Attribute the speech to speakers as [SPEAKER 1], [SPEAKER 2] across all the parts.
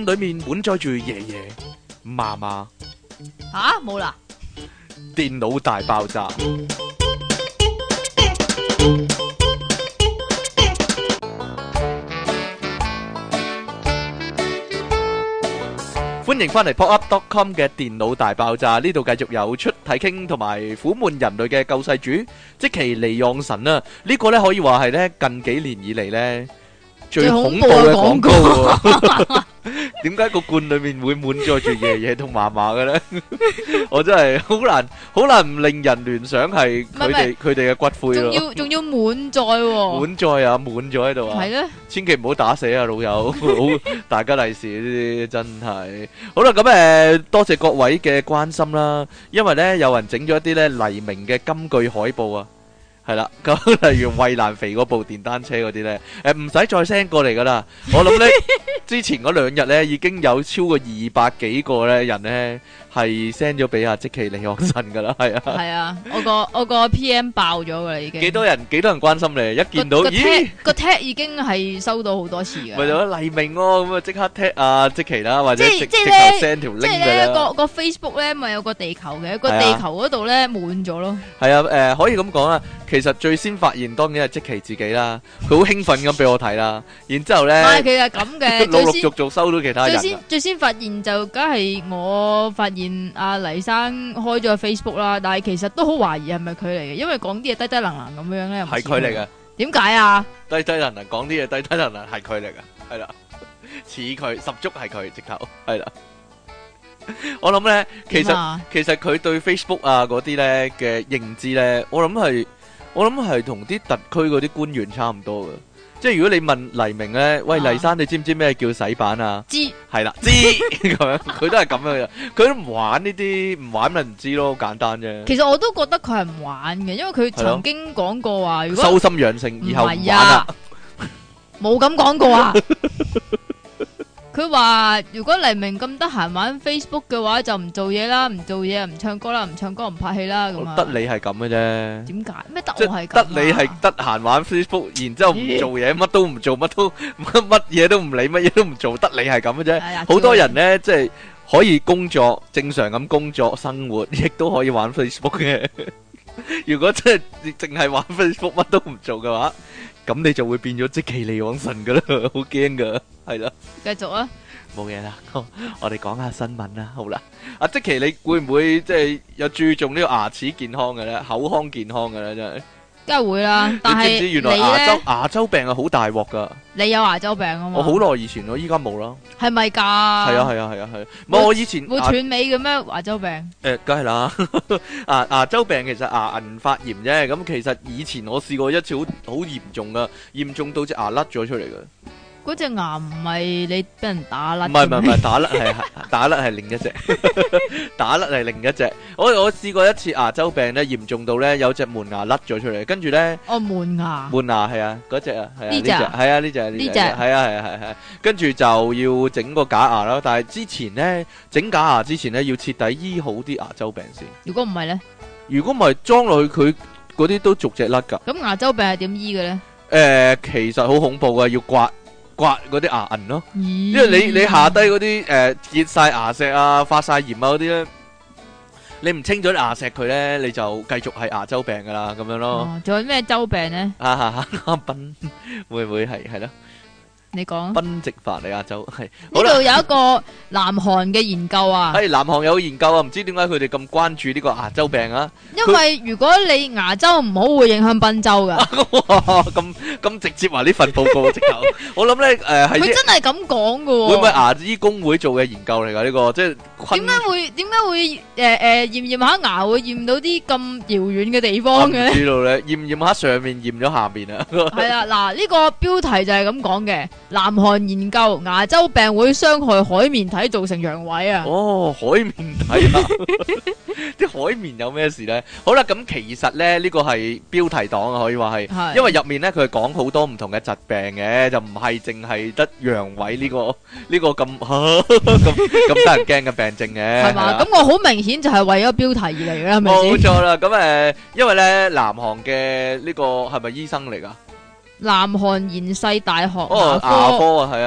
[SPEAKER 1] 裏面滿載住爺爺、嫲嫲。
[SPEAKER 2] 吓冇啦。
[SPEAKER 1] 電腦大爆炸。歡迎翻嚟 popup.com 嘅電腦大爆炸，呢度繼續有出體傾同埋苦悶人類嘅救世主積淇離岸神啊！呢個呢可以話係呢近幾年以嚟呢最恐怖嘅廣告喎。點解個罐裏面會滿載住爺爺同嫲嫲嘅咧？我真係好難唔令人聯想係佢哋嘅骨灰咯。
[SPEAKER 2] 仲要滿載喎。
[SPEAKER 1] 滿載啊，滿咗喺度啊。係咧，千祈唔好打死啊，老友。好大吉利是呢啲真係。好啦，咁多謝各位嘅關心啦。因為咧有人整咗一啲咧黎明嘅金句海報啊。係啦，咁例如衛蘭肥嗰部電單車嗰啲咧，唔使再 send 過嚟噶啦。我諗咧，之前嗰2日咧已經有超過200幾個咧人咧係 send 咗俾阿積淇離岸神噶啦，係啊。係啊，
[SPEAKER 2] 我個 PM 爆咗噶啦已經。幾多人
[SPEAKER 1] 關心你？一見到咦
[SPEAKER 2] 個 tag 已經係收到好多次嘅。
[SPEAKER 1] 咪就係黎明喎，咁啊即刻 tag 阿積淇啦，或者直頭 send 條 link 㗎啦。即係咧
[SPEAKER 2] 個 Facebook 咧咪有個地球嘅，個地球嗰度咧滿咗咯。
[SPEAKER 1] 係啊，可以咁講啦。其實最先發現當然係積淇自己啦，佢好興奮咁俾我睇啦，然之後咧，
[SPEAKER 2] 係其實咁嘅，
[SPEAKER 1] 陸陸續續收到其他人。
[SPEAKER 2] 最先發現就梗係我發現阿黎生開咗 Facebook 啦，但係其實都好懷疑係咪佢嚟嘅，因為講啲嘢低低能能咁樣咧，
[SPEAKER 1] 係佢嚟嘅。
[SPEAKER 2] 點解啊？
[SPEAKER 1] 低低能能講啲嘢低低能能係佢嚟嘅，係啦，似佢十足係佢直頭，係啦。我諗咧，其實佢對 Facebook 啊嗰啲咧嘅認知咧，我諗係同啲特區嗰啲官員差唔多嘅，即係如果你問黎明咧，喂黎生，你知唔知咩叫洗版啊？知，係啦，知咁樣，佢都係咁樣嘅，佢都唔玩呢啲，唔玩咪唔知咯，好簡單啫。
[SPEAKER 2] 其實我都覺得佢係唔玩嘅，因為佢曾經講過話，如果
[SPEAKER 1] 修心養性，以後唔玩啦，
[SPEAKER 2] 冇咁講過啊。佢話如果黎明咁得閒玩 Facebook 嘅話，就唔做嘢啦，唔做嘢唔唱歌啦，唔唱歌唔拍戲啦，咁啊。
[SPEAKER 1] 得你係咁嘅啫。點
[SPEAKER 2] 解？咩得我係咁？
[SPEAKER 1] 得你係得閒玩 Facebook，然之後唔做嘢，乜都唔做，乜嘢都唔理，乜嘢都唔做，得你係咁嘅啫。好多人呢，即係可以工作，正常咁工作生活，亦都可以玩 Facebook 嘅。如果真係淨係玩 Facebook，乜都唔做嘅話，咁你就會變咗積淇離岸神噶啦，好驚噶，係啦。
[SPEAKER 2] 繼續啊，
[SPEAKER 1] 冇嘢啦，我哋講下新聞啦，好啦。阿積淇，你會唔會即係有注重呢個牙齒健康嘅咧，口腔健康嘅咧？真係，
[SPEAKER 2] 梗係會啦。但係
[SPEAKER 1] 你知唔知原來牙周病係好大鑊噶？
[SPEAKER 2] 你有牙周病啊嘛？
[SPEAKER 1] 我好耐以前咯，依家冇啦。
[SPEAKER 2] 係咪噶？
[SPEAKER 1] 係啊。唔係我以前
[SPEAKER 2] 會斷尾嘅咩？牙周病？
[SPEAKER 1] 梗係啦。牙周病其實牙齦發炎啫。咁其實以前我試過一次好嚴重噶，嚴重到隻牙甩咗出嚟噶。
[SPEAKER 2] 嗰隻牙唔係你俾人打甩？唔
[SPEAKER 1] 係打甩係另一隻，打甩係另一隻。我試過一次牙周病咧，嚴重到咧有隻門牙甩咗出嚟，跟住咧
[SPEAKER 2] 門牙
[SPEAKER 1] 係啊，嗰隻啊係啊，呢隻
[SPEAKER 2] 係
[SPEAKER 1] 啊呢隻係啊，跟住就要整個假牙啦。但係之前咧整假牙之前咧要徹底醫好啲牙周病先。
[SPEAKER 2] 如果唔係咧？
[SPEAKER 1] 如果唔係裝落去佢嗰啲都逐隻甩噶。
[SPEAKER 2] 咁牙周病係點醫嘅咧？
[SPEAKER 1] 其實好恐怖噶，要刮嗰啲牙齦咯，因為你下低嗰啲結晒牙石啊、發晒炎啊嗰啲咧，你唔清咗啲牙石佢咧，你就繼續係牙周病噶啦，咁樣咯。
[SPEAKER 2] 仲有咩周病咧？
[SPEAKER 1] 賓會唔會係咯？
[SPEAKER 2] 你講
[SPEAKER 1] 賓夕凡尼亞州係
[SPEAKER 2] 呢度有一個南韓嘅研究啊，
[SPEAKER 1] 係南韓有研究啊，唔知點解佢哋咁關注呢個牙周病啊？
[SPEAKER 2] 因為如果你牙周唔好，會影響賓周噶。
[SPEAKER 1] 咁直接話呢份報告直頭，我諗咧係
[SPEAKER 2] 佢真係咁講噶。
[SPEAKER 1] 會唔會牙醫工會做嘅研究嚟噶呢個？即係
[SPEAKER 2] 點解會驗下牙會驗到啲咁遙遠嘅地方嘅咧？
[SPEAKER 1] 唔知道咧，驗下上面，驗咗下面啊。
[SPEAKER 2] 係啊，嗱呢個標題就係咁講嘅。南韓研究牙周病會傷害海綿體，造成陽痿啊！
[SPEAKER 1] 哦，海綿體啊，啲海綿有咩事咧？好啦，咁其實咧呢個係標題黨啊，可以話係，因為入面咧佢係講好多唔同嘅疾病嘅，就唔係淨係得陽痿呢個咁得人驚嘅病症嘅。
[SPEAKER 2] 係嘛？咁我好明顯就係為咗標題而嚟嘅，係咪先？
[SPEAKER 1] 冇錯啦，咁因為咧南韓嘅呢個係咪醫生嚟噶？
[SPEAKER 2] 南韓延世大學
[SPEAKER 1] 牙科啊，係啊，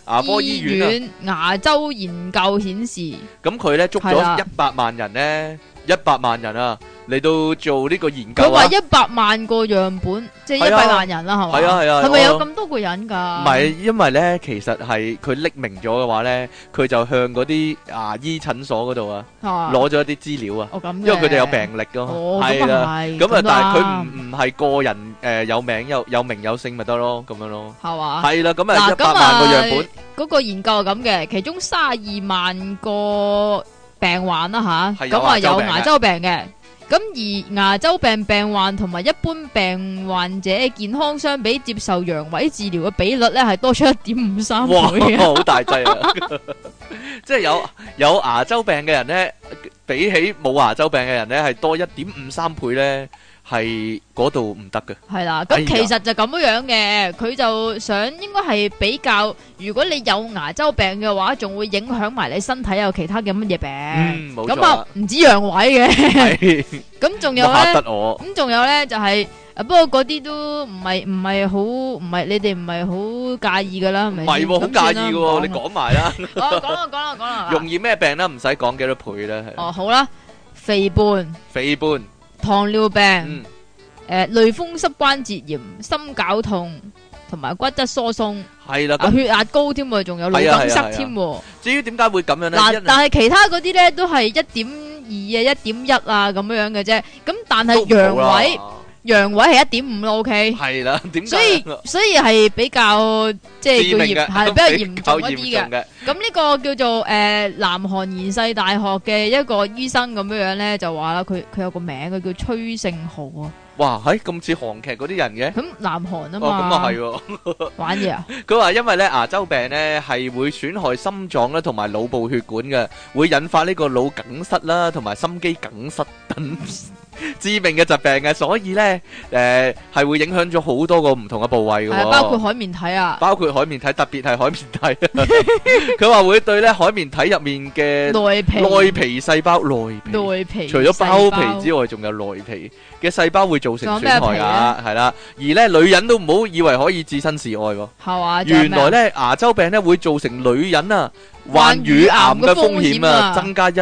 [SPEAKER 1] 牙科醫院
[SPEAKER 2] 牙周研究顯示，
[SPEAKER 1] 咁佢咧捉咗100萬人咧，100萬人啊嚟到做呢個研究啊。
[SPEAKER 2] 佢話100萬個樣本，即係100萬人啦，係嘛？
[SPEAKER 1] 係啊係啊。
[SPEAKER 2] 係咪有咁多個人㗎？
[SPEAKER 1] 唔係，因為咧其實係佢匿名咗嘅話咧，佢就向嗰啲牙醫診所嗰度啊攞咗一啲資料啊。
[SPEAKER 2] 哦咁。
[SPEAKER 1] 因為佢哋有病歷㗎嘛。
[SPEAKER 2] 哦，
[SPEAKER 1] 係啦。咁啊，但係佢唔係個人有名有名有姓咪得咯，咁樣咯。係嘛？係啦，咁啊100萬個樣本。
[SPEAKER 2] 嗰個研究係咁嘅，其中32萬個病患啦吓，咁啊有牙周病嘅。咁而牙周病病患同埋一般病患者健康相比，接受陽痿治療嘅比率咧係多出1.53倍。
[SPEAKER 1] 哇，好大劑啊！即係有牙周病嘅人咧，比起冇牙周病嘅人咧，係多1.53倍咧。係嗰度唔得嘅，係啦。咁其實就咁樣嘅，佢就想應該係比較，如果你有牙周病嘅話，仲會影響埋你身體有其他嘅乜嘢病。冇錯。咁啊，唔止陽痿嘅。咁仲有咧，嚇得我。咁仲有咧就係，不過嗰啲都唔係你哋唔係好介意噶啦，係咪？唔係喎，好介意嘅喎，你講埋啦。講啦。容易咩病啦？唔使講幾多倍啦。哦，好啦，肥胖。糖尿病、類風濕關節炎、心絞痛同埋骨質疏鬆，係啦，血壓高添喎，仲有腦梗塞添。至於點解會咁樣咧？嗱，但係其他嗰啲咧都係1.2啊、1.1啊咁樣嘅啫。咁但係陽痿係1.5咯，OK。係啦，點解？所以係比較即係係比較嚴重一啲嘅。咁呢個叫做南韓延世大學嘅一個醫生咁樣咧，就話啦，佢有個名，佢叫崔勝浩啊。哇，咁似韓劇嗰啲人嘅。咁南韓啊嘛。哦，咁啊係。玩嘢啊！佢話因為咧牙周病咧係會損害心臟啦，同埋腦部血管嘅，會引發呢個腦梗塞啦，同埋心肌梗塞等致命嘅疾病嘅，所以咧係會影響咗好多個唔同嘅部位嘅，包括海綿體啊，包括海綿體，特別係海綿體。佢話會對咧海綿體入面嘅內皮細胞，內皮除咗包皮之外，仲有內皮嘅細胞會造成損害噶，係啦。而咧女人都唔好以為可以置身事外喎，係嘛？原來咧牙周病咧會造成女人啊患乳癌嘅風險啊增加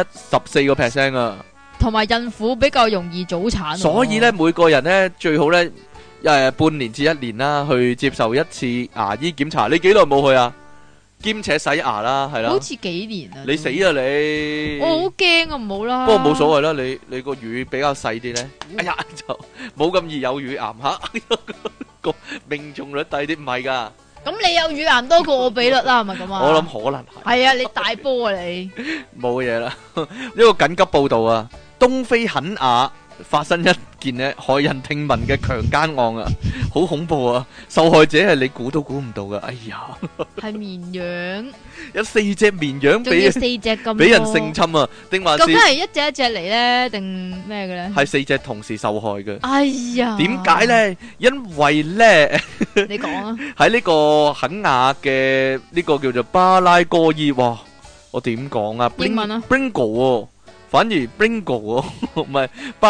[SPEAKER 1] 14%啊。同埋孕婦比較容易早產，所以咧每個人咧最好咧半年至1年啦，去接受一次牙醫檢查。你幾耐冇去啊？兼且洗牙啦，係啦。好似幾年啊？你死啊你！我好驚啊，唔好啦。不過冇所謂啦，你個乳比較細啲咧，哎呀就冇咁易有乳癌吓，個命中率低啲，唔係噶。咁你有乳癌多過我比率啦，係咪咁啊？我諗可能係。係啊，你大波啊你！冇嘢啦，呢個緊急報道啊！東非肯亞發生一件咧駭人聽聞嘅強姦案啊，好恐怖啊！受害者係你估都估唔到噶，哎呀，係綿羊，有4隻綿羊俾4隻咁俾人性侵啊，定還是？究竟係一隻一隻嚟咧，定咩嘅咧？係4隻同時受害嘅。哎呀，點解咧？因為咧，你講啊，喺呢個肯亞嘅呢個叫做巴拉戈伊，哇，我點講啊？英文啊 ，Bingo。反而 Bringo 唔係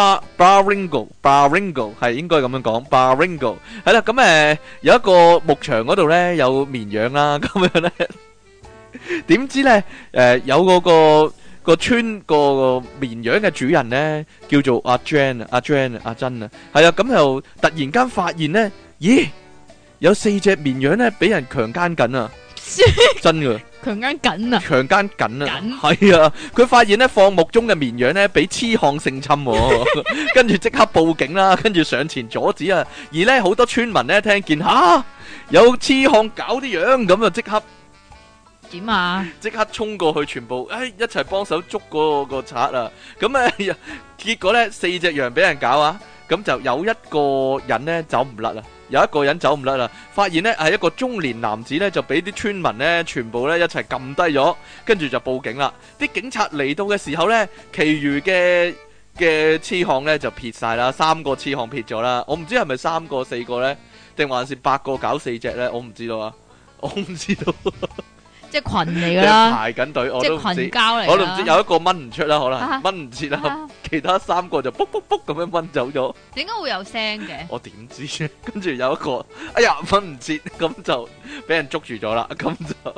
[SPEAKER 1] Baringo 係應該咁樣講 Baringo 係啦。咁有一個牧場嗰度咧有綿羊啦，咁樣咧點知咧有嗰個村個綿羊嘅主人咧叫做阿珍啊，係啊，咁又突然間發現咧，咦，有4隻綿羊咧俾人強姦緊啊，真噶！強姦緊啊！係啊！佢發現咧放牧中嘅綿羊咧俾痴漢性侵，跟住即刻報警啦，跟住上前阻止啊！而咧好多村民咧聽見有痴漢搞啲羊，咁啊即刻點啊？即刻衝過去，全部一齊幫手捉個賊啊！咁結果咧4隻羊俾人搞啊！咁就有一個人咧走唔甩啦，發現咧係一個中年男子咧就俾啲村民咧全部咧一齊撳低咗，跟住就報警啦。啲警察嚟到嘅時候咧，其餘嘅痴漢咧就撇晒啦，3個痴漢撇咗啦。我唔知係咪3個4個咧，定還是8個搞4隻咧？我唔知道啊，我唔知道。即係群嚟噶啦，排緊隊，我都唔知，群交嚟，我都唔知有一個掹唔出啦，可能掹唔切啦，其他3個就卜卜卜咁樣掹走咗。點解會有聲嘅？我點知啫？跟住有一個，哎呀掹唔切，咁就俾人捉住咗啦，咁就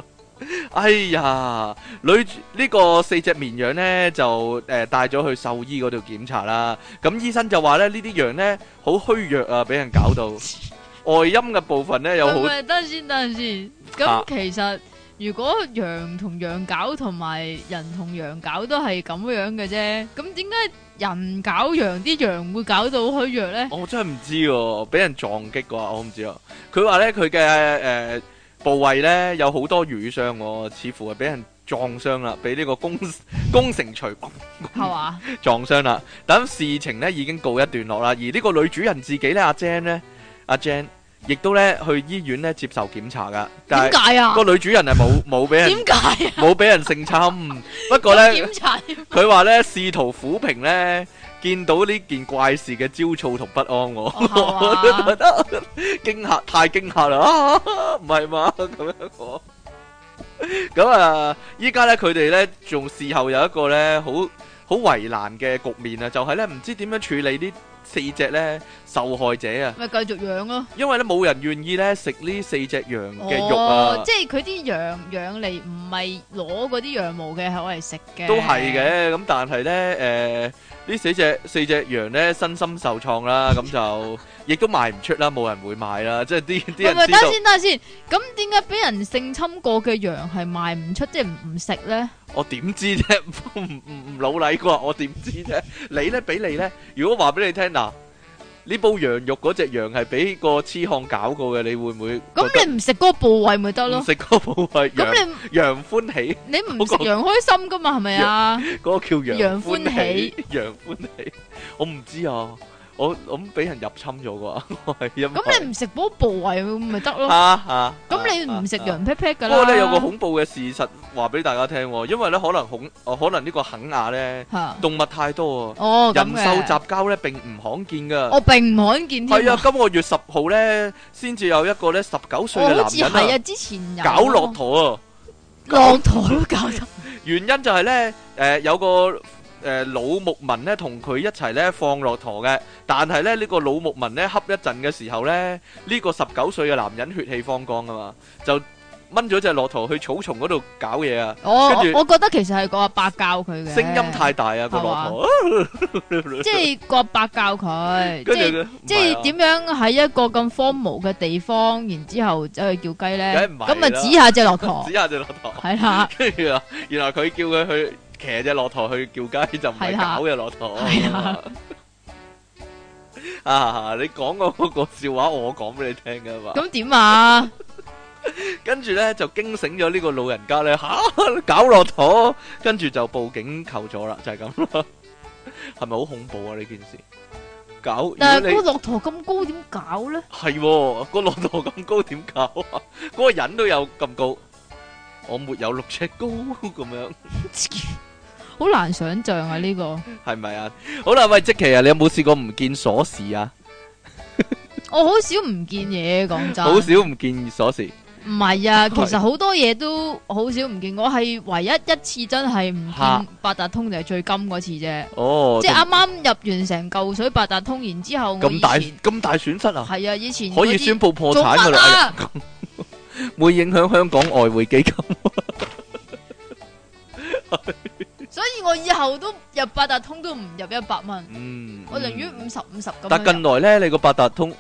[SPEAKER 1] 哎呀，呢個4隻綿羊呢，就帶咗去獸醫嗰度檢查啦。咁醫生就話咧，呢啲羊呢，好虛弱啊，俾人搞到外陰嘅部分呢，有好。
[SPEAKER 2] 等先。咁其實如果羊同羊搞同埋人同羊搞都係咁樣嘅啫，咁點解人搞羊啲羊會搞到虛弱呢？
[SPEAKER 1] 我真係唔知喎，俾人撞擊啩，我唔知啊。佢話呢，佢嘅部位呢，有好多瘀傷喎，似乎係俾人撞傷啦，俾呢個工程錘係嘛撞傷啦。等事情呢已經告一段落啦，而呢個女主人自己呢，阿 Jane 亦都咧去醫院咧接受檢查噶，但係點解啊？個女主人係冇俾人點解啊？冇俾人性侵，不過咧檢查佢話咧試圖撫平咧見到呢件怪事嘅焦躁同不安，我都覺得驚嚇，太驚嚇啦！唔係嘛咁樣講。咁啊，依家咧佢哋咧仲事後有一個咧好為難嘅局面啊，就係咧唔知點樣處理呢4隻咧受害者啊，咪繼續養咯。因為咧冇人願意咧食呢4隻羊嘅肉啊，即係佢啲羊養嚟唔係攞嗰啲羊毛嘅，係攞嚟食嘅。都係嘅，咁但係咧呢4隻羊咧身心受創啦，咁就亦都賣唔出啦，冇人會買啦，即係啲人知道。等下先，咁點解俾人性侵過嘅羊係賣唔出，即係唔食咧？我點知啫？唔老禮啩？我點知啫？你咧俾你咧，如果話俾你聽嗱，呢煲羊肉嗰隻羊係俾個痴漢搞過嘅，你會唔會？咁你唔食嗰個部位咪得咯？唔食嗰個部位，咁你羊歡喜，你唔食羊開心噶嘛？係咪啊？嗰個叫羊歡喜，羊歡喜，我唔知啊。我俾人入侵咗啩，咁你唔食嗰個部位咪得咯？咁你唔食羊屁屁噶啦。不過咧有個恐怖嘅事實話俾大家聽，因為咧可能呢個肯亞咧動物太多啊，人獸雜交咧並唔罕見噶。我並唔罕見添。係啊，今個月10號咧先至有一個咧19歲嘅男人啊，好似係啊，之前有搞駱駝啊，駱駝都搞得。原因就係咧有個老牧民咧同佢一齊咧放駱駝嘅，但係咧呢個老牧民咧恰一陣嘅時候咧，呢個19歲嘅男人血氣方剛啊嘛，就掹咗隻駱駝去草叢嗰度搞嘢啊！我覺得其實係個阿伯教佢嘅，聲音太大啊個駱駝，即係個阿伯教佢，即係點樣喺一個咁荒蕪嘅地方，然之後走去叫雞咧？咁咪指下隻駱駝，指下隻駱駝，係啦。跟住啊，原來佢叫佢去騎隻駱駝去叫雞，就唔係搞隻駱駝啊！你講嗰個笑話，我講俾你聽噶嘛？咁點啊？跟住咧就驚醒咗呢個老人家咧，搞駱駝，跟住就報警求助啦，就係咁咯。係咪好恐怖啊呢件事？但係個駱駝咁高點搞咧？係個駱駝咁高點搞啊？嗰個人都有咁高，我沒有6尺高咁樣。好難想象啊呢個係咪啊？好啦，喂，積淇啊，你有冇試過唔見鎖匙啊？我好少唔見嘢，講真，好少唔見鎖匙。唔係啊，其實好多嘢都好少唔見。我係唯一一次真係唔見八達通就係最金嗰次啫。哦，即係啱啱入完成嚿水八達通，然之後咁大損失啊？係啊，以前可以宣布破產噶啦，會影響香港外匯基金。所以我以後都入八達通都唔入100蚊，我寧願50咁。但近來咧，你個八達通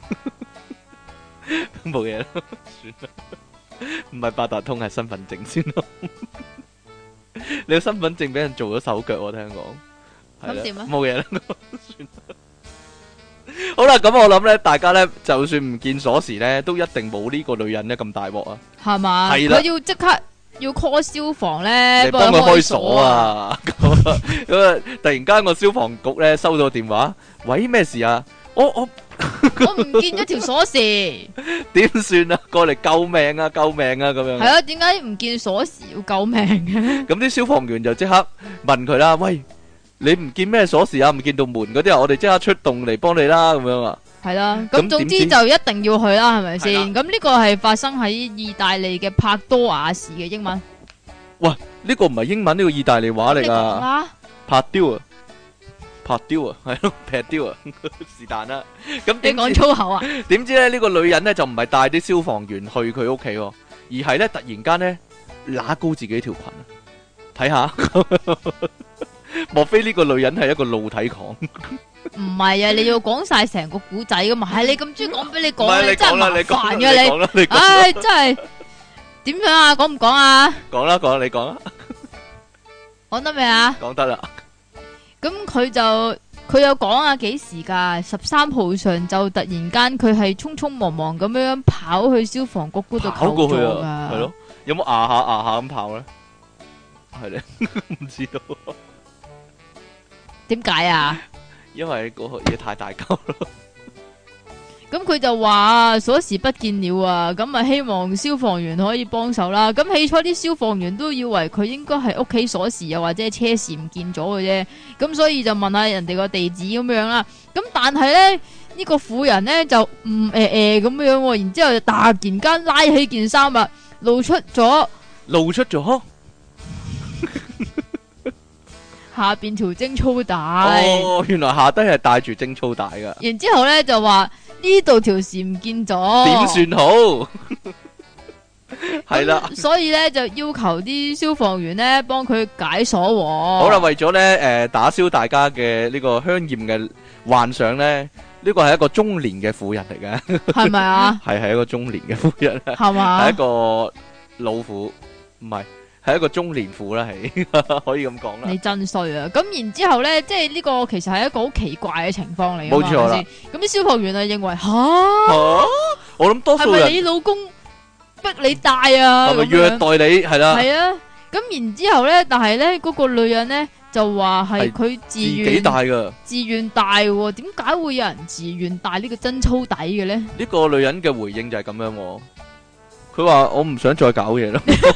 [SPEAKER 1] 冇嘢啦，算啦，唔係八達通係身份證先咯。你個身份證俾人做咗手腳，我聽講。咁點啊？冇嘢啦，算啦。好啦，咁我諗咧，大家咧就算唔見鎖匙咧，都一定冇呢個女人咧咁大鑊啊。係嘛？係啦，佢要即刻。要 call 消防咧，幫佢開鎖啊！咁啊，突然間個消防局咧收到電話，喂，咩事啊？我唔見咗條鎖匙，點算啊？過嚟救命啊！救命啊！咁樣係啊？點解唔見鎖匙要救命嘅？咁啲消防員就即刻問佢啦，喂，你唔見咩鎖匙啊？唔見到門嗰啲啊？我哋即刻出動嚟幫你啦，咁樣啊？係啦，咁總之就一定要去啦，係咪先？咁呢個係發生喺意大利嘅帕多瓦市嘅英文。喂，呢個唔係英文，呢個意大利話嚟噶。帕丟啊，帕丟啊，係咯，劈丟啊，是但啦。咁你講粗口啊？點知咧呢個女人咧就唔係帶啲消防員去佢屋企，而係咧突然間咧揦高自己條裙啊？睇下，莫非呢個女人係一個露體狂？
[SPEAKER 2] 唔係啊，你要講晒成個古仔噶嘛？係你咁中意講俾你講，
[SPEAKER 1] 唔係
[SPEAKER 2] 你真係麻煩嘅
[SPEAKER 1] 你講啦，你講啦。
[SPEAKER 2] 唉，真係點樣啊？講唔講啊？
[SPEAKER 1] 講啦，講啦，你講啦。
[SPEAKER 2] 講得未啊？
[SPEAKER 1] 講得啦。
[SPEAKER 2] 咁佢有講啊，幾時㗎？13號上晝突然間佢係匆匆忙忙咁樣跑去消防局嗰度
[SPEAKER 1] 跑過去
[SPEAKER 2] 求助
[SPEAKER 1] 啊，係
[SPEAKER 2] 㗎。
[SPEAKER 1] 咯，有冇牙下咁跑咧？係咧，唔知道。
[SPEAKER 2] 點解啊？
[SPEAKER 1] 因為嗰個嘢太大嚿咯。
[SPEAKER 2] 咁佢就話鎖匙不見了啊，咁啊希望消防員可以幫手啦。咁起初啲消防員都以為佢應該係屋企鎖匙又或者係車匙唔見咗嘅啫，咁所以就問下人哋個地址咁樣啦。咁但係咧呢個婦人咧就咁樣，然之後就突然間拉起件衫啊，露出咗下邊條貞操帶。
[SPEAKER 1] 哦，原來下低係帶住貞操帶噶。
[SPEAKER 2] 然之後咧就話呢度條匙唔見咗，
[SPEAKER 1] 點算好？係啦，
[SPEAKER 2] 所以咧就要求啲消防員咧幫佢解鎖喎。
[SPEAKER 1] 好啦，為咗咧打消大家嘅呢個香艷嘅幻想咧，呢個係一個中年嘅婦人嚟嘅，
[SPEAKER 2] 係咪啊？
[SPEAKER 1] 係一個中年嘅婦人，
[SPEAKER 2] 係嘛？
[SPEAKER 1] 係一個老婦，唔係一個中年婦啦，係可以咁講啦。
[SPEAKER 2] 你真衰啊！咁然之後咧，即係呢個其實係一個好奇怪嘅情況嚟㗎嘛。
[SPEAKER 1] 冇錯啦。
[SPEAKER 2] 咁啲消防員啊認為吓，
[SPEAKER 1] 我諗多數人
[SPEAKER 2] 係咪你老公逼你帶啊？
[SPEAKER 1] 係咪虐待你？係啦。
[SPEAKER 2] 係啊。咁然之後咧，但係咧嗰個女人咧就話係佢自己
[SPEAKER 1] 帶㗎，
[SPEAKER 2] 自願帶喎。點解會有人自願帶呢個貞操帶嘅咧？
[SPEAKER 1] 呢個女人嘅回應就係咁樣喎。佢話我唔想再搞嘢啦。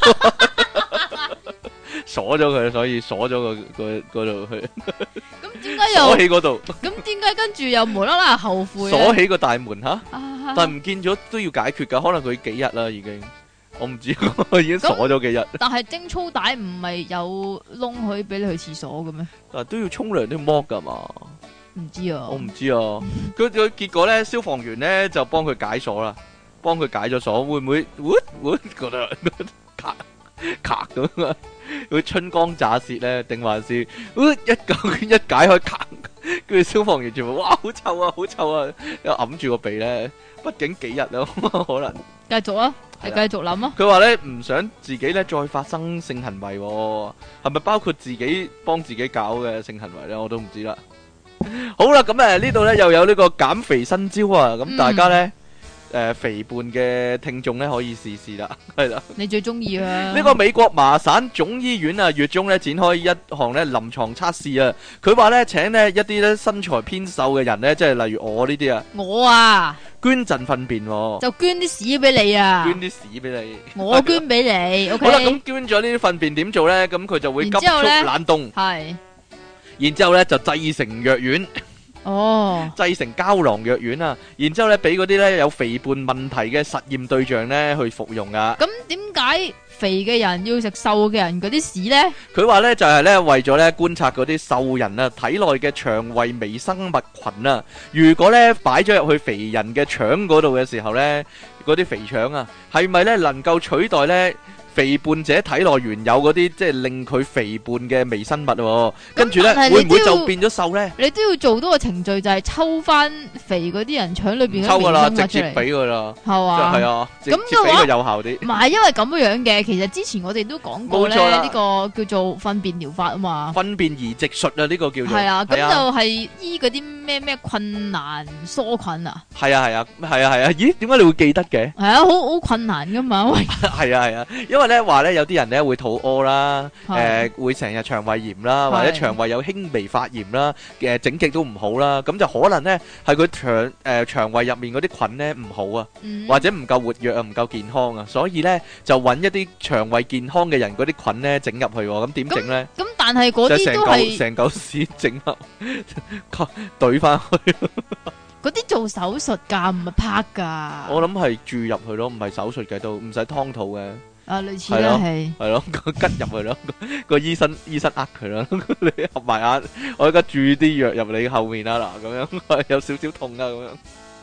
[SPEAKER 1] 鎖咗佢，所以鎖咗嗰度去。
[SPEAKER 2] 咁點解又
[SPEAKER 1] 鎖起嗰度？
[SPEAKER 2] 咁點解跟住又無啦啦後悔？
[SPEAKER 1] 鎖起個大門吓，但係唔見咗都要解決噶，可能佢幾日啦已經，我唔知，已經鎖咗幾日。
[SPEAKER 2] 但係貞操帶唔係有窿可以俾你去廁所嘅咩？
[SPEAKER 1] 但係都要沖涼都要剝噶嘛？
[SPEAKER 2] 唔知啊，
[SPEAKER 1] 我唔知啊。佢結果咧，消防員咧就幫佢解鎖啦，幫佢解咗鎖，會唔會覺得咔咁啊？會春光乍泄咧，定還是一解開咔？跟住消防員全部哇好臭啊，好臭啊！又揞住個鼻咧，畢竟幾日啊，可能
[SPEAKER 2] 繼續啊，你繼續諗啊。
[SPEAKER 1] 佢話咧唔想自己咧再發生性行為，係咪包括自己幫自己搞嘅性行為咧？我都唔知啦。好啦，咁呢度咧又有呢個減肥新招啊！咁大家咧。肥胖嘅聽眾咧可以試試啦，係啦。
[SPEAKER 2] 你最中意啊？
[SPEAKER 1] 呢個美國麻省總醫院啊，月中咧展開一項咧臨床測試啊。佢話咧請呢一啲咧身材偏瘦嘅人咧，即係例如我呢啲啊，
[SPEAKER 2] 我啊
[SPEAKER 1] 捐贈糞便，
[SPEAKER 2] 就捐啲屎俾你啊，
[SPEAKER 1] 捐啲屎俾你，
[SPEAKER 2] 我捐俾你。OK。
[SPEAKER 1] 好啦，咁捐咗呢啲糞便點做咧？咁佢就會急速冷凍，
[SPEAKER 2] 係，
[SPEAKER 1] 然之後咧就製成藥丸。
[SPEAKER 2] 哦，
[SPEAKER 1] 製成膠囊藥丸啊，然之後咧俾嗰啲咧有肥胖問題嘅實驗對象咧去服用啊。
[SPEAKER 2] 咁點解肥嘅人要食瘦嘅人嗰啲屎咧？
[SPEAKER 1] 佢話咧就係咧為咗咧觀察嗰啲瘦人啊體內嘅腸胃微生物群啊，如果咧擺咗入去肥人嘅腸嗰度嘅時候咧，嗰啲肥腸啊係咪咧能夠取代咧肥胖者體內原有嗰啲即係令佢肥胖嘅微生物，跟住咧會唔會就變咗瘦咧？
[SPEAKER 2] 你都要做多個程序，就係抽翻肥嗰啲人腸裏邊嘅微生物出嚟。抽噶啦，
[SPEAKER 1] 直接俾佢啦，
[SPEAKER 2] 係嘛？
[SPEAKER 1] 係啊，直接俾佢有效啲。
[SPEAKER 2] 唔係因為咁樣嘅，其實之前我哋都講過咧，呢個叫做糞便療法啊嘛。糞
[SPEAKER 1] 便移植術啊，呢個叫做。
[SPEAKER 2] 係啊，咁就係醫嗰啲咩困難梭菌啊。
[SPEAKER 1] 係啊，咦？點解你會記得嘅？
[SPEAKER 2] 係啊，好困難噶嘛。
[SPEAKER 1] 係啊，因為咧話咧有啲人咧會肚屙啦，會成日腸胃炎啦，或者腸胃有輕微發炎啦，整極都唔好啦，咁就可能咧係佢腸胃入面嗰啲菌咧唔好啊，或者唔夠活躍啊，唔夠健康啊，所以咧就揾一啲腸胃健康嘅人嗰啲菌咧整入去，咁點整咧？
[SPEAKER 2] 咁但係嗰啲都係
[SPEAKER 1] 成嚿屎整入懟翻去。
[SPEAKER 2] 嗰啲做手術噶，唔係拍噶。
[SPEAKER 1] 我諗係注入去咯，唔係手術嘅，都唔使劏肚嘅。
[SPEAKER 2] 啊，類似啦，係
[SPEAKER 1] 咯，吉入去咯，個醫生呃佢啦，你合埋眼，我而家注啲藥入你後面啦，嗱，咁樣有少少痛啊，咁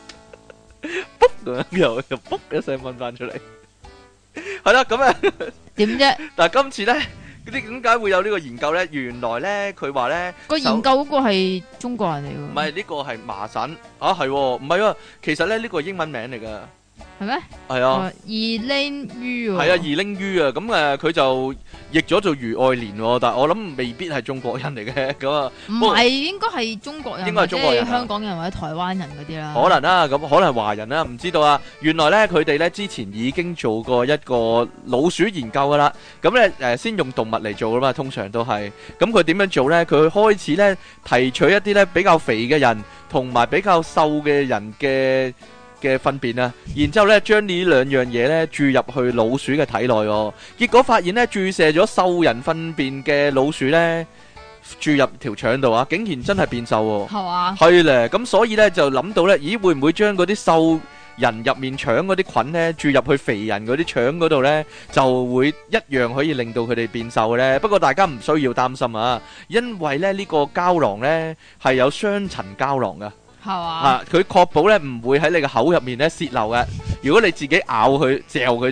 [SPEAKER 1] 樣，卜咁樣又卜一聲掹翻出嚟，係啦，咁啊，
[SPEAKER 2] 點啫？
[SPEAKER 1] 但係今次咧，嗰啲點解會有呢個研究咧？原來咧，佢話咧
[SPEAKER 2] 個研究嗰個係中國人嚟㗎。
[SPEAKER 1] 唔係呢個係麻省啊，係唔係喎？其實咧呢個係英文名嚟㗎。
[SPEAKER 2] 係咩？
[SPEAKER 1] 係啊
[SPEAKER 2] ，Elaine Yu
[SPEAKER 1] 係啊，Elaine Yu啊，咁佢就譯咗做余愛蓮，但係我諗未必係中國人嚟嘅，咁啊，
[SPEAKER 2] 唔係應該係中國人，
[SPEAKER 1] 應該係中國人，
[SPEAKER 2] 香港人或者台灣人嗰啲啦。
[SPEAKER 1] 可能啦，咁可能係華人啦，唔知道啊。原來咧佢哋咧之前已經做過一個老鼠研究噶啦，咁咧先用動物嚟做噶嘛，通常都係。咁佢點樣做咧？佢開始咧提取一啲咧比較肥嘅人同埋比較瘦嘅人嘅糞便啊，然之後咧將呢兩樣嘢咧注入去老鼠嘅體內，結果發現咧注射咗瘦人糞便嘅老鼠咧注入條腸度啊，竟然真係變瘦喎。
[SPEAKER 2] 係嘛？
[SPEAKER 1] 係咧，咁所以咧就諗到咧，咦會唔會將嗰啲瘦人入面腸嗰啲菌咧注入去肥人嗰啲腸嗰度咧，就會一樣可以令到佢哋變瘦咧？不過大家唔需要擔心啊，因為咧呢個膠囊咧係有雙層膠囊噶。
[SPEAKER 2] 係嘛？
[SPEAKER 1] 佢確保咧唔會喺你個口入面咧泄漏嘅。如果你自己咬佢、嚼佢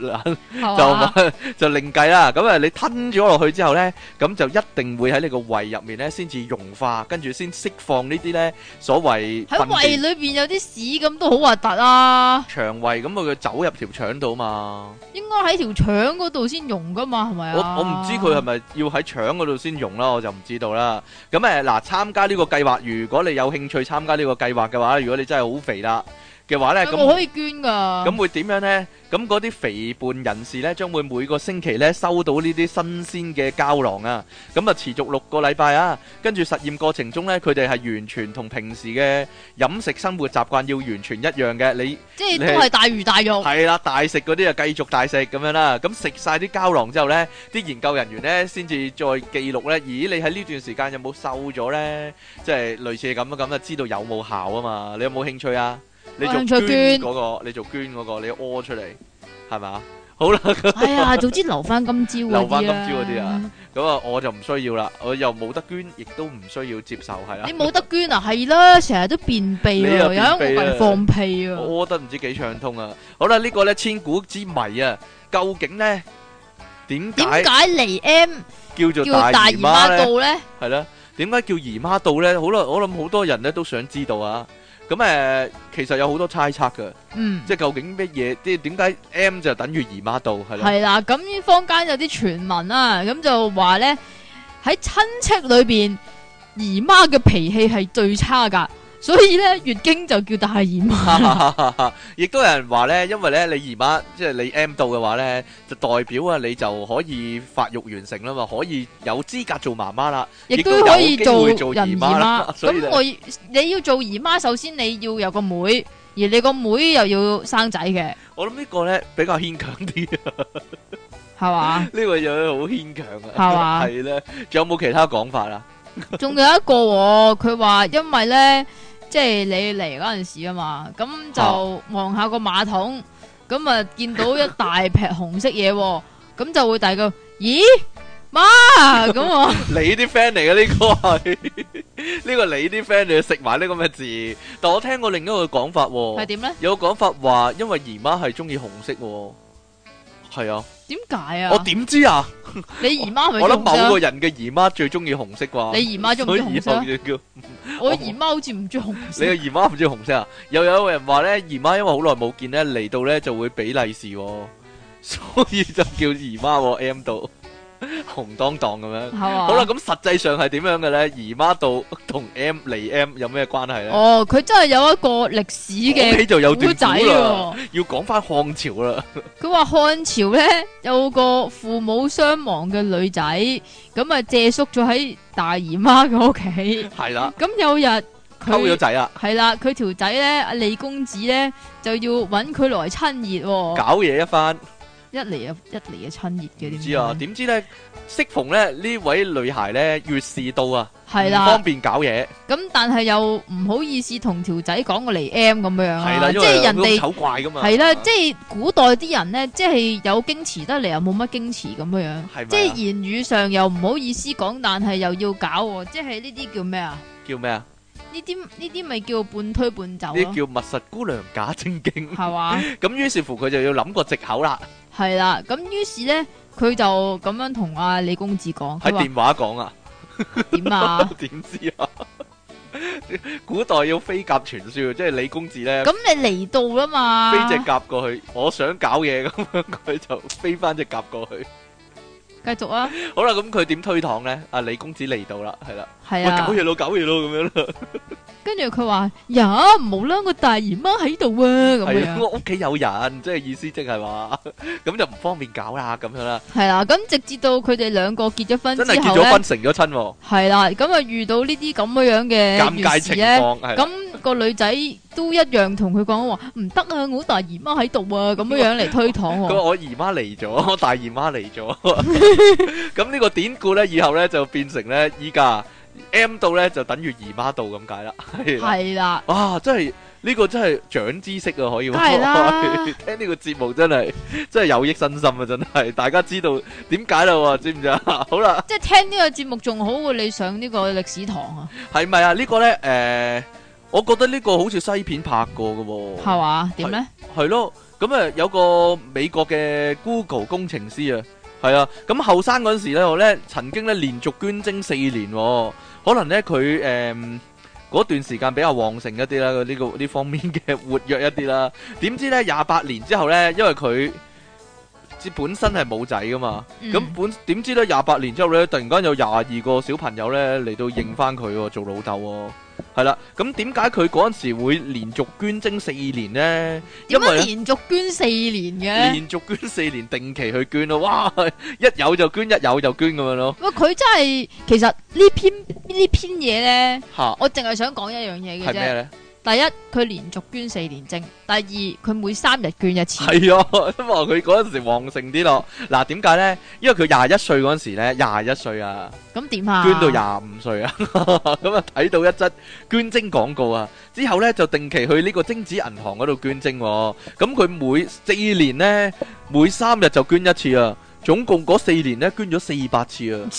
[SPEAKER 1] 就另計啦。咁你吞咗落去之後咧，咁就一定會喺你個胃入面咧先至溶化，跟住先釋放呢啲咧所謂
[SPEAKER 2] 喺胃裏邊有啲屎咁都好核突啊！
[SPEAKER 1] 腸胃咁佢走入條腸度嘛，
[SPEAKER 2] 應該喺條腸嗰度先溶噶嘛，係咪啊？
[SPEAKER 1] 我唔知佢係咪要喺腸嗰度先溶啦，我就唔知道啦。咁嗱，參加呢個計劃，如果你有興趣參加呢個計劃嘅話，如果你真係好肥啦嘅話咧，咁
[SPEAKER 2] 我可以捐噶。
[SPEAKER 1] 咁會點樣咧？咁嗰啲肥胖人士咧，將會每個星期咧收到呢啲新鮮嘅膠囊啊。咁啊持續6個禮拜啊。跟住實驗過程中咧，佢哋係完全同平時嘅飲食生活習慣要完全一樣嘅。你
[SPEAKER 2] 即係都係大魚大肉。係
[SPEAKER 1] 啦，大食嗰啲啊繼續大食咁樣啦。咁食晒啲膠囊之後咧，啲研究人員咧先至再記錄咧。咦，你喺呢段時間有冇瘦咗咧？即係類似咁啊，咁就知道有冇效啊嘛。你有冇興趣啊？你做捐嗰個，你做捐嗰個，你屙出嚟係咪？好啦，
[SPEAKER 2] 哎呀，早知留翻今朝嗰啲啦。
[SPEAKER 1] 留翻今朝嗰啲啊，咁啊我就唔需要啦，我又冇得捐，亦都唔需要接受，係啦。
[SPEAKER 2] 你冇得捐啊？係啦，成日都便秘啊，有一個人放屁啊，
[SPEAKER 1] 屙得唔知幾暢通啊！好啦，呢個咧千古之謎啊，究竟咧點解
[SPEAKER 2] 嚟 M
[SPEAKER 1] 叫做大姨媽
[SPEAKER 2] 道咧？
[SPEAKER 1] 係啦，點解叫姨媽道咧？好啦，我諗好多人咧都想知道啊。咁其實有好多猜測嘅，即係究竟乜嘢？即係點解 M 就等於姨媽道係啦？係啦，
[SPEAKER 2] 咁坊間有啲傳聞啦，咁就話咧喺親戚裏邊，姨媽嘅脾氣係最差噶。所以咧月經就叫大姨媽，
[SPEAKER 1] 亦都有人話咧，因為咧你姨媽即係你 M 到嘅話咧，就代表啊你就可以發育完成啦嘛，可以有資格做媽媽啦，亦都可以做人姨媽。咁你要做姨媽，首先你要有個妹，而你個妹又要生仔嘅。我諗呢個咧比較牽強啲，
[SPEAKER 2] 係嘛？
[SPEAKER 1] 呢個有好牽強啊，
[SPEAKER 2] 係嘛？
[SPEAKER 1] 係咧，仲有冇其他講法啊？
[SPEAKER 2] 仲有一個佢話因為咧。即係你嚟嗰陣時啊嘛，咁就望下個馬桶，咁啊見到一大劈紅色嘢，咁就會大個，咦媽咁啊！
[SPEAKER 1] 你啲 friend 嚟嘅呢個係呢個你啲 friend 嚟食埋呢個咩字？但我聽過另一個講法，
[SPEAKER 2] 係點咧？
[SPEAKER 1] 有個講法話，因為姨媽係中意紅色，係啊。點解啊？我點知啊？
[SPEAKER 2] 你姨媽係咪？
[SPEAKER 1] 我諗某個人嘅姨媽最中意紅色啩。
[SPEAKER 2] 你姨媽中唔中意紅色？我姨媽好似唔中意紅色。
[SPEAKER 1] 你嘅姨媽唔中意紅色啊？又有人話咧，姨媽因為好耐冇見咧，嚟到咧就會俾利是，所以就叫姨媽 M 到紅當當咁樣。好啦，咁實際上係點樣嘅咧？姨媽到同 M 嚟 M 有咩關係咧？
[SPEAKER 2] 哦，佢真係有一個歷史嘅古仔喎，
[SPEAKER 1] 要講翻漢朝啦。
[SPEAKER 2] 佢話漢朝咧有個父母雙亡嘅女仔，咁啊借宿咗喺大姨媽嘅屋企。係啦。咁有日
[SPEAKER 1] 溝咗仔啊。
[SPEAKER 2] 係啦，佢條仔咧阿李公子咧就要搵佢來親熱，
[SPEAKER 1] 搞嘢一番。一嚟
[SPEAKER 2] 嘅親熱嘅，點
[SPEAKER 1] 知啊？點知咧？適逢咧呢位女孩咧月事到啊，
[SPEAKER 2] 係啦，
[SPEAKER 1] 唔方便搞嘢。咁
[SPEAKER 2] 但係又唔好意思同條仔講過嚟 M 咁樣
[SPEAKER 1] 係啦，
[SPEAKER 2] 即係人哋
[SPEAKER 1] 醜怪噶嘛。
[SPEAKER 2] 係啦，即係古代啲人咧，即係有矜持得嚟又冇乜矜持咁樣，即係言語上又唔好意思講，但係又要搞，即係呢啲叫咩啊？
[SPEAKER 1] 叫咩啊？
[SPEAKER 2] 呢啲咪叫半推半就咯，
[SPEAKER 1] 呢叫密實姑娘假正經，
[SPEAKER 2] 係嘛？
[SPEAKER 1] 咁於是乎佢就要諗個藉口啦。
[SPEAKER 2] 係啦，咁於是咧，佢就咁樣同阿李公子講，
[SPEAKER 1] 喺電話講啊？
[SPEAKER 2] 點啊？
[SPEAKER 1] 點知啊？古代要飛鴿傳書，即係李公子咧。
[SPEAKER 2] 咁你嚟到啦嘛？
[SPEAKER 1] 飛隻鴿過去，我想搞嘢咁樣，佢就飛翻隻鴿過去。
[SPEAKER 2] 繼續啊！
[SPEAKER 1] 好啦，咁佢點推搪咧？阿李公子嚟到啦，係啦，
[SPEAKER 2] 係啊，
[SPEAKER 1] 搞嘢咯，搞嘢咯，咁樣啦。
[SPEAKER 2] 跟住佢話呀，唔好啦，個大姨媽喺度啊，咁樣。
[SPEAKER 1] 我屋企有人，即係意思即係話，咁就唔方便搞啦，咁樣啦。
[SPEAKER 2] 係啦，咁直至到佢哋兩個結咗婚之後咧，
[SPEAKER 1] 真係結咗婚成咗親。
[SPEAKER 2] 係啦，咁啊遇到呢啲咁樣嘅
[SPEAKER 1] 尷尬情況，
[SPEAKER 2] 咁個女仔都一樣同佢講話唔得啊，我大姨媽喺度啊，咁樣嚟推搪。
[SPEAKER 1] 佢話我姨媽嚟咗，我大姨媽嚟咗。咁呢個典故咧，以後咧就變成咧依家。M 到咧就等於姨媽到咁解啦，係啦，哇，真係呢個真係長知識啊，可以話，聽呢個節目真係有益身心啊，真係，大家知道點解啦，知唔知啊？好啦，
[SPEAKER 2] 即係聽呢個節目仲好過你上呢個歷史堂啊，
[SPEAKER 1] 係咪啊？呢個咧我覺得呢個好似西片拍過噶喎，
[SPEAKER 2] 係嘛？點咧？係
[SPEAKER 1] 咯，咁有個美國嘅 Google 工程師啊。係啊，咁後生嗰陣時咧，我咧曾經咧連續捐精4年，可能咧佢嗰段時間比較旺盛一啲啦，呢方面嘅活躍一啲啦。點知咧28年之後咧，因為佢本身係冇仔噶嘛，咁點知咧28年之後咧，突然間有22個小朋友咧嚟到認翻佢做老豆。係啦，咁點解佢嗰陣時會連續捐精4年呢？
[SPEAKER 2] 點解連續捐4年嘅？連續
[SPEAKER 1] 捐4年，定期去捐咯，哇！一有就捐，一有就捐咁樣咯。
[SPEAKER 2] 喂，佢真係，其實呢篇嘢咧，我淨係想講一樣嘢嘅啫。係咩咧？第一，佢連續捐4年精；第二，佢每3日捐一次。係啊，
[SPEAKER 1] 都話佢嗰陣時旺盛啲咯。嗱，點解咧？因為佢21歲嗰陣時咧，21歲啊。
[SPEAKER 2] 咁點啊？
[SPEAKER 1] 捐到25歲啊！咁啊睇到一則捐精廣告啊，之後咧就定期去呢個精子銀行嗰度捐精。咁佢每4年咧，每3日就捐一次啊。總共嗰4年咧捐咗400次啊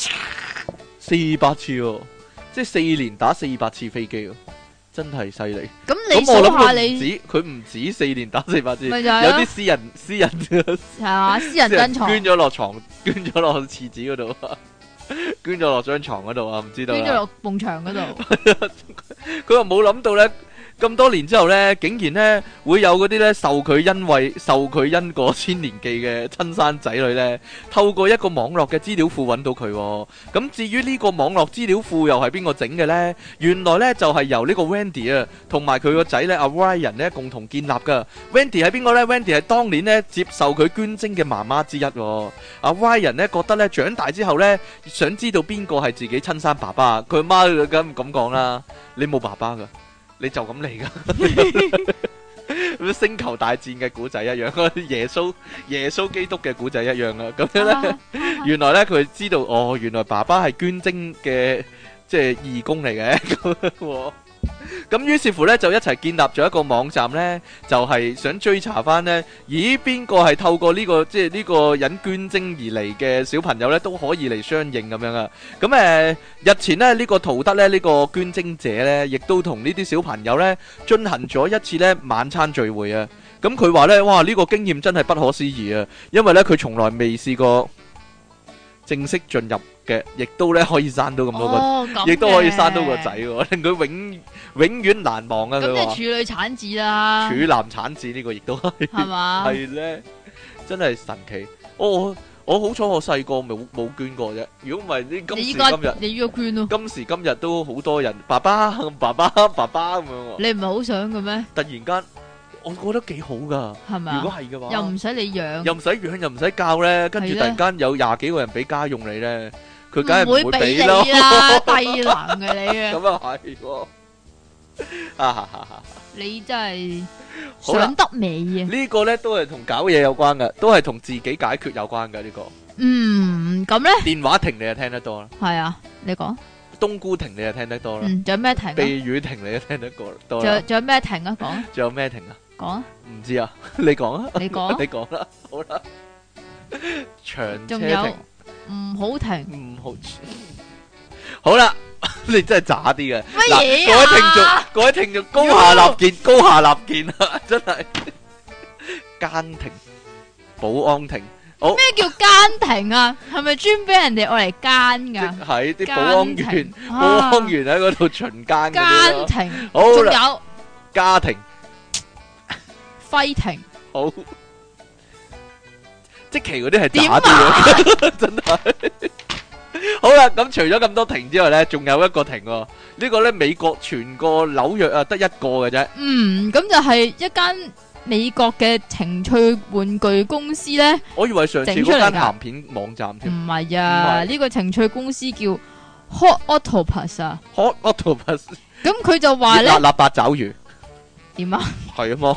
[SPEAKER 1] ，400次喎，即係4年打400次飛機啊！真係犀利。咁你數下你，佢唔止4年打400次，有啲私人
[SPEAKER 2] 係啊，私人珍藏
[SPEAKER 1] 捐咗落床，捐咗落廁紙嗰度，捐咗落張床嗰度啊，唔知道。捐咗
[SPEAKER 2] 落埲牆嗰度。
[SPEAKER 1] 佢話冇諗到咧，咁多年之後咧，竟然咧會有嗰啲咧受佢因果千年記嘅親生仔女咧，透過一個網絡嘅資料庫揾到佢。咁至於呢個網絡資料庫又係邊個整嘅咧？原來咧就係由呢個 Wendy 啊，同埋佢個仔咧阿 Ryan 咧共同建立噶。Wendy 係邊個咧 ？Wendy 係當年咧接受佢捐精嘅媽媽之一。阿 Ryan 咧覺得咧長大之後咧，想知道邊個係自己親生爸爸。佢阿媽咁講啦，你冇爸爸噶。你就咁嚟噶，星球大戰嘅古仔一樣，耶穌基督嘅古仔一樣啊！咁樣咧，原來咧佢知道原來爸爸係捐精嘅，即係義工嚟嘅。咁於是乎咧，就一齊建立咗一個網站咧，就係想追查翻咧，咦邊個係透過呢個即係呢個人捐精而嚟嘅小朋友咧，都可以嚟相認咁樣啊！咁日前咧呢個陶德咧呢個捐精者咧，亦都同呢啲小朋友咧進行咗一次咧晚餐聚會啊！咁佢話咧，哇呢個經驗真係不可思議啊！因為咧佢從來未試過正式進入嘅，亦都咧可以生到咁多個，亦都可以生到個仔，令佢永遠難忘啊！
[SPEAKER 2] 咁即係處女產子啦，
[SPEAKER 1] 處男產子呢個亦都係嘛？係咧，真係神奇。我好彩我細個冇捐過啫。如果唔係呢，今時今日
[SPEAKER 2] 你要捐咯。
[SPEAKER 1] 今時今日都好多人爸爸咁樣。
[SPEAKER 2] 你唔係好想嘅咩？
[SPEAKER 1] 突然間，我覺得幾好噶，係咪？如果係嘅話，
[SPEAKER 2] 又唔使你養，
[SPEAKER 1] 又唔使養，又唔使教咧，跟住突然間有20幾個人俾家用你咧，佢梗係唔會俾咯，
[SPEAKER 2] 低能嘅你啊！
[SPEAKER 1] 咁啊係。
[SPEAKER 2] 你真係想得美啊！
[SPEAKER 1] 呢個咧都係同搞嘢有關嘅，都係同自己解決有關嘅呢個。
[SPEAKER 2] 咁咧？
[SPEAKER 1] 電話亭你就聽得多啦。
[SPEAKER 2] 係啊，你講。
[SPEAKER 1] 冬菇亭你就聽得多啦。
[SPEAKER 2] 仲有咩亭？
[SPEAKER 1] 避雨亭你就聽得多。
[SPEAKER 2] 仲有咩亭啊？講。
[SPEAKER 1] 仲有咩亭啊？
[SPEAKER 2] 講。
[SPEAKER 1] 唔知啊，你講啊。
[SPEAKER 2] 你講。
[SPEAKER 1] 你講啦，好啦。長車亭。
[SPEAKER 2] 仲有唔好停。
[SPEAKER 1] 唔好。好啦。 你真係渣啲嘅。
[SPEAKER 2] 乜嘢
[SPEAKER 1] 各位聽眾，高下立見，高下立見啊！真係奸庭、保安庭，
[SPEAKER 2] 咩叫奸庭啊？係咪專俾人哋愛嚟奸噶？
[SPEAKER 1] 係啲保安員，保安員喺嗰度巡奸嗰啲咯。
[SPEAKER 2] 奸庭，
[SPEAKER 1] 好
[SPEAKER 2] 仲
[SPEAKER 1] 啦，
[SPEAKER 2] 有
[SPEAKER 1] 家庭、
[SPEAKER 2] 輝庭，
[SPEAKER 1] 好。即期嗰啲係渣啲嘅，真係。好啦，咁除咗咁多庭之外咧，仲有一個庭喎。呢個咧美國全個紐約啊，得一個嘅啫。
[SPEAKER 2] 咁就係一間美國嘅情趣玩具公司咧。
[SPEAKER 1] 我以為上次嗰間鹹片網站添。
[SPEAKER 2] 唔係啊，呢個情趣公司叫 Hot Octopus 啊。
[SPEAKER 1] Hot Octopus。
[SPEAKER 2] 咁佢就話咧，
[SPEAKER 1] 辣辣八爪魚。
[SPEAKER 2] 點啊？
[SPEAKER 1] 係啊嘛。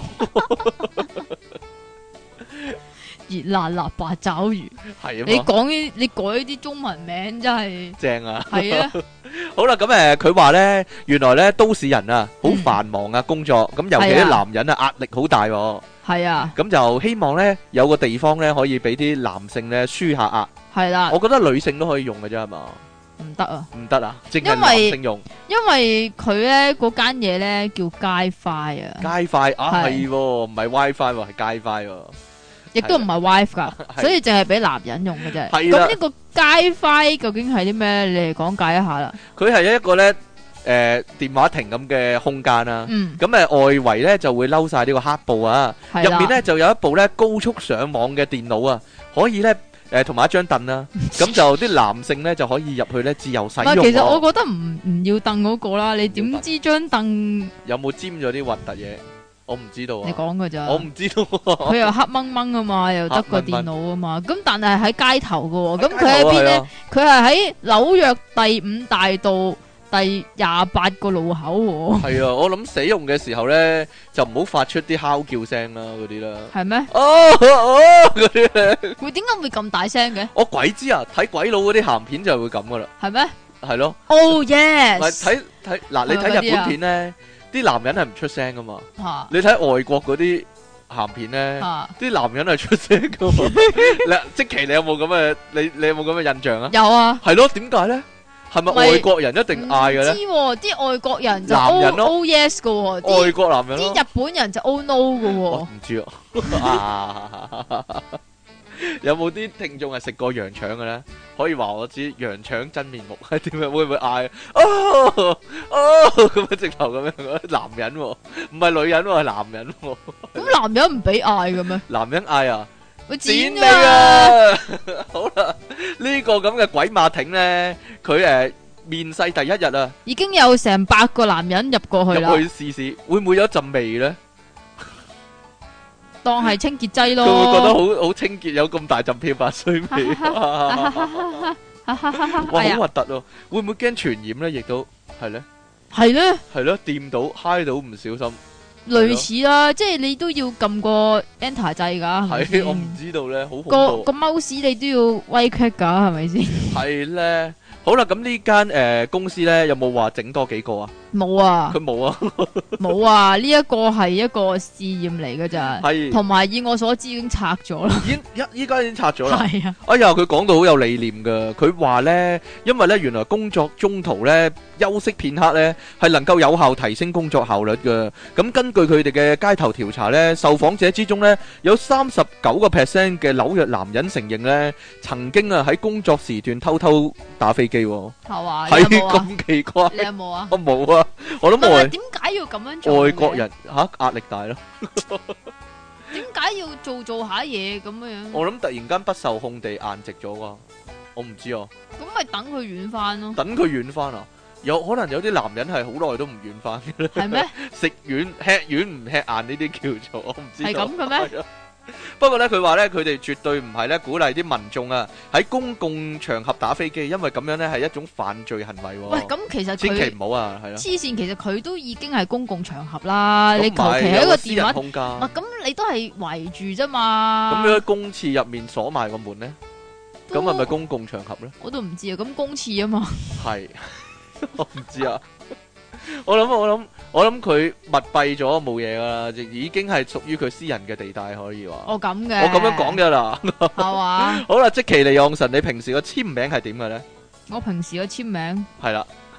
[SPEAKER 2] 熱辣辣八爪魚，係啊！你改啲中文名真係
[SPEAKER 1] 正啊！
[SPEAKER 2] 係啊！
[SPEAKER 1] 好啦，咁佢話咧，原來咧都市人啊，好繁忙啊，工作咁，尤其啲男人啊，壓力好大。
[SPEAKER 2] 係啊！咁
[SPEAKER 1] 就希望咧有個地方咧可以俾啲男性咧舒下壓。
[SPEAKER 2] 係啦，
[SPEAKER 1] 我覺得女性都可以用嘅啫，係嘛？
[SPEAKER 2] 唔得啊！
[SPEAKER 1] 唔得啊！淨係男性用。
[SPEAKER 2] 因為佢咧嗰間嘢咧叫街快啊！
[SPEAKER 1] 街快啊，係唔係 WiFi 喎，係街快喎。
[SPEAKER 2] 亦都唔係 wife 噶，所以淨係俾男人用嘅啫。咁呢個街徽究竟係啲咩？你嚟講解一下啦。佢
[SPEAKER 1] 係一個咧電話亭咁嘅空間啦。咁外圍咧就會嬲晒呢個黑布啊，入面咧就有一部咧高速上網嘅電腦啊，可以咧同埋一張凳啦。咁就啲男性咧就可以入去咧自由使用。
[SPEAKER 2] 其實我覺得唔要凳嗰個啦，你點知張凳
[SPEAKER 1] 有冇沾咗啲核突嘢？我唔知道啊！
[SPEAKER 2] 你講噶咋？
[SPEAKER 1] 我唔知道。
[SPEAKER 2] 佢又黑掹掹啊嘛，又得個電腦啊嘛。咁但係喺街頭噶，咁佢喺邊咧？佢係喺紐約第5大道第28個路口。
[SPEAKER 1] 係啊，我諗使用嘅時候咧，就唔好發出啲嚎叫聲啦，嗰啲啦。
[SPEAKER 2] 係咩？
[SPEAKER 1] 嗰啲咧。
[SPEAKER 2] 會點解會咁大聲嘅？
[SPEAKER 1] 我鬼知啊！睇鬼佬嗰啲鹹片就會咁噶啦。
[SPEAKER 2] 係咩？
[SPEAKER 1] 係咯。
[SPEAKER 2] Oh yes。
[SPEAKER 1] 睇嗱，你睇日本片咧。啲男人係唔出聲噶嘛？你睇外國嗰啲鹹片咧，啲男人係出聲噶嘛？即其你有冇咁嘅？你有冇咁嘅印象啊？
[SPEAKER 2] 有啊。
[SPEAKER 1] 係咯？點解咧？係咪外國人一定嗌嘅咧？
[SPEAKER 2] 唔知喎，啲外國人就 O yes 噶喎，
[SPEAKER 1] 外國男人咯。
[SPEAKER 2] 啲日本人就 O no 噶喎。
[SPEAKER 1] 我唔知啊。有冇啲聽眾係食過羊腸嘅咧？可以話我知羊腸真面目係點樣？會唔會嗌咁樣直頭咁樣？男人唔係女人，係男人。
[SPEAKER 2] 咁男人唔俾嗌嘅咩？
[SPEAKER 1] 男人嗌啊！
[SPEAKER 2] 會剪
[SPEAKER 1] 你啊！好啦，呢個咁嘅鬼馬挺咧，佢面世第一日啊，
[SPEAKER 2] 已經有成100個男人入過去啦。
[SPEAKER 1] 入去試試，會唔會有陣味咧？
[SPEAKER 2] 當係清潔劑咯，
[SPEAKER 1] 佢會覺得好清潔，有咁大陣漂白水味，哇，好核突咯！會唔會驚傳染咧？亦都係咧，係咧，係咯，掂到揩到唔小心，
[SPEAKER 2] 類似啦，即係你都要撳個 Enter 掣噶。
[SPEAKER 1] 係我唔知道咧，好恐怖。
[SPEAKER 2] 個 mouse 你都要威 click 噶，係咪先？係
[SPEAKER 1] 咧，好啦，咁呢間公司咧有冇話整多幾個啊？
[SPEAKER 2] 冇啊，
[SPEAKER 1] 佢冇啊，
[SPEAKER 2] 冇啊，呢一個係一個試驗嚟㗎咋，
[SPEAKER 1] 係，
[SPEAKER 2] 同埋以我所知已經拆咗啦，
[SPEAKER 1] 依家已經拆咗啦，
[SPEAKER 2] 係啊，
[SPEAKER 1] 哎呀，佢講到好有理念噶，佢話咧，因為咧原來工作中途咧休息片刻咧係能夠有效提升工作效率噶，咁根據佢哋嘅街頭調查咧，受訪者之中咧有39% 嘅紐約男人承認咧曾經啊喺工作時段偷偷打飛機，係
[SPEAKER 2] 嘛？
[SPEAKER 1] 係咁奇怪，
[SPEAKER 2] 你有冇啊？
[SPEAKER 1] 我冇啊。我諗
[SPEAKER 2] 點解要咁樣做？
[SPEAKER 1] 外國人壓力大咯。
[SPEAKER 2] 點解要做下嘢咁樣？
[SPEAKER 1] 我諗突然間不受控地硬直咗啩，我唔知啊。
[SPEAKER 2] 咁咪等佢軟翻咯。
[SPEAKER 1] 等佢軟翻啊？有可能有啲男人係好耐都唔軟翻嘅咧。
[SPEAKER 2] 係咩？
[SPEAKER 1] 食軟吃軟唔吃硬呢啲叫做，我唔知道。
[SPEAKER 2] 係咁嘅咩？
[SPEAKER 1] 不過咧，佢話咧，佢哋絕對唔係咧鼓勵啲民眾啊喺公共場合打飛機，因為咁樣咧係一種犯罪行為。
[SPEAKER 2] 喂，咁其實
[SPEAKER 1] 千祈唔好啊，係咯。
[SPEAKER 2] 黐線，其實佢都已經係公共場合啦，你求其喺個電話
[SPEAKER 1] 空間，
[SPEAKER 2] 咁你都係圍住啫嘛。
[SPEAKER 1] 咁你喺公廁入面鎖埋個門咧，咁係咪公共場合咧？
[SPEAKER 2] 我都唔知啊，咁公廁啊嘛。
[SPEAKER 1] 係，我唔知啊。我諗佢密閉咗冇嘢噶啦，已經係屬於佢私人嘅地帶，可以話。
[SPEAKER 2] 哦，咁嘅。
[SPEAKER 1] 我咁樣講噶啦。
[SPEAKER 2] 係嘛？
[SPEAKER 1] 好啦，積淇離岸神，你平時個簽名係點嘅咧？
[SPEAKER 2] 我平時個簽名
[SPEAKER 1] 係啦，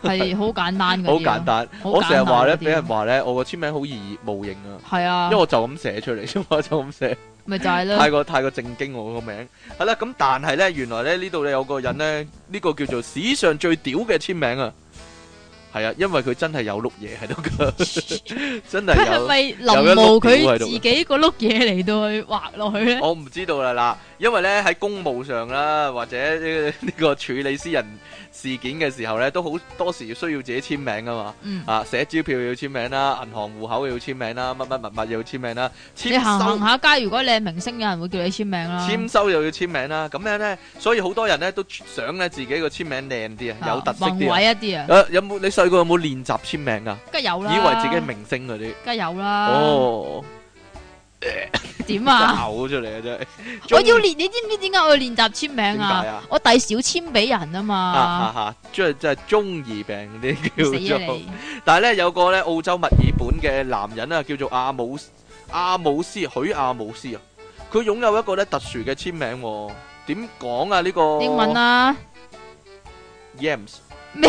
[SPEAKER 2] 係好簡單嘅。
[SPEAKER 1] 好簡單，我成日話咧，俾人話咧，我個簽名好易冒認啊。
[SPEAKER 2] 係啊，
[SPEAKER 1] 因為我就咁寫出嚟啫嘛，就咁寫。咪
[SPEAKER 2] 就係咯。
[SPEAKER 1] 太過正經我個名。係啦，咁但係咧，原來咧呢度咧有個人咧，呢個叫做史上最屌嘅簽名啊！係啊，因為佢真係有碌嘢喺度噶，真係有。佢係咪臨摹佢自己個碌嘢嚟到去畫落去咧？我唔知道啦，嗱，因為咧喺公務上啦，或者呢個處理私人事件嘅時候咧，都好多時需要自己簽名噶嘛。啊，寫支票要簽名啦，銀行戶口要簽名啦，乜物要簽名啦。你行下街，如果你係明星，有人會叫你簽名啦。簽收又要簽名啦，咁樣咧，所以好多人咧都想咧自己個簽名靚啲啊，有特色啲啊。宏偉一啲啊。有冇你細個有冇練習簽名啊？梗係有啦。以為自己係明星嗰啲。梗係有啦。哦。點啊？嘔出嚟啊！真係。我要練，你知唔知點解我要練習簽名啊？點解啊？我遞少簽俾人啊嘛。即係中二病嗰啲叫做。死啊你！但係咧有個咧澳洲墨爾本嘅男人啊，叫做阿姆斯許阿姆斯啊，佢擁有一個咧特殊嘅簽名。點講啊？呢個英文啊 ？Yams。咩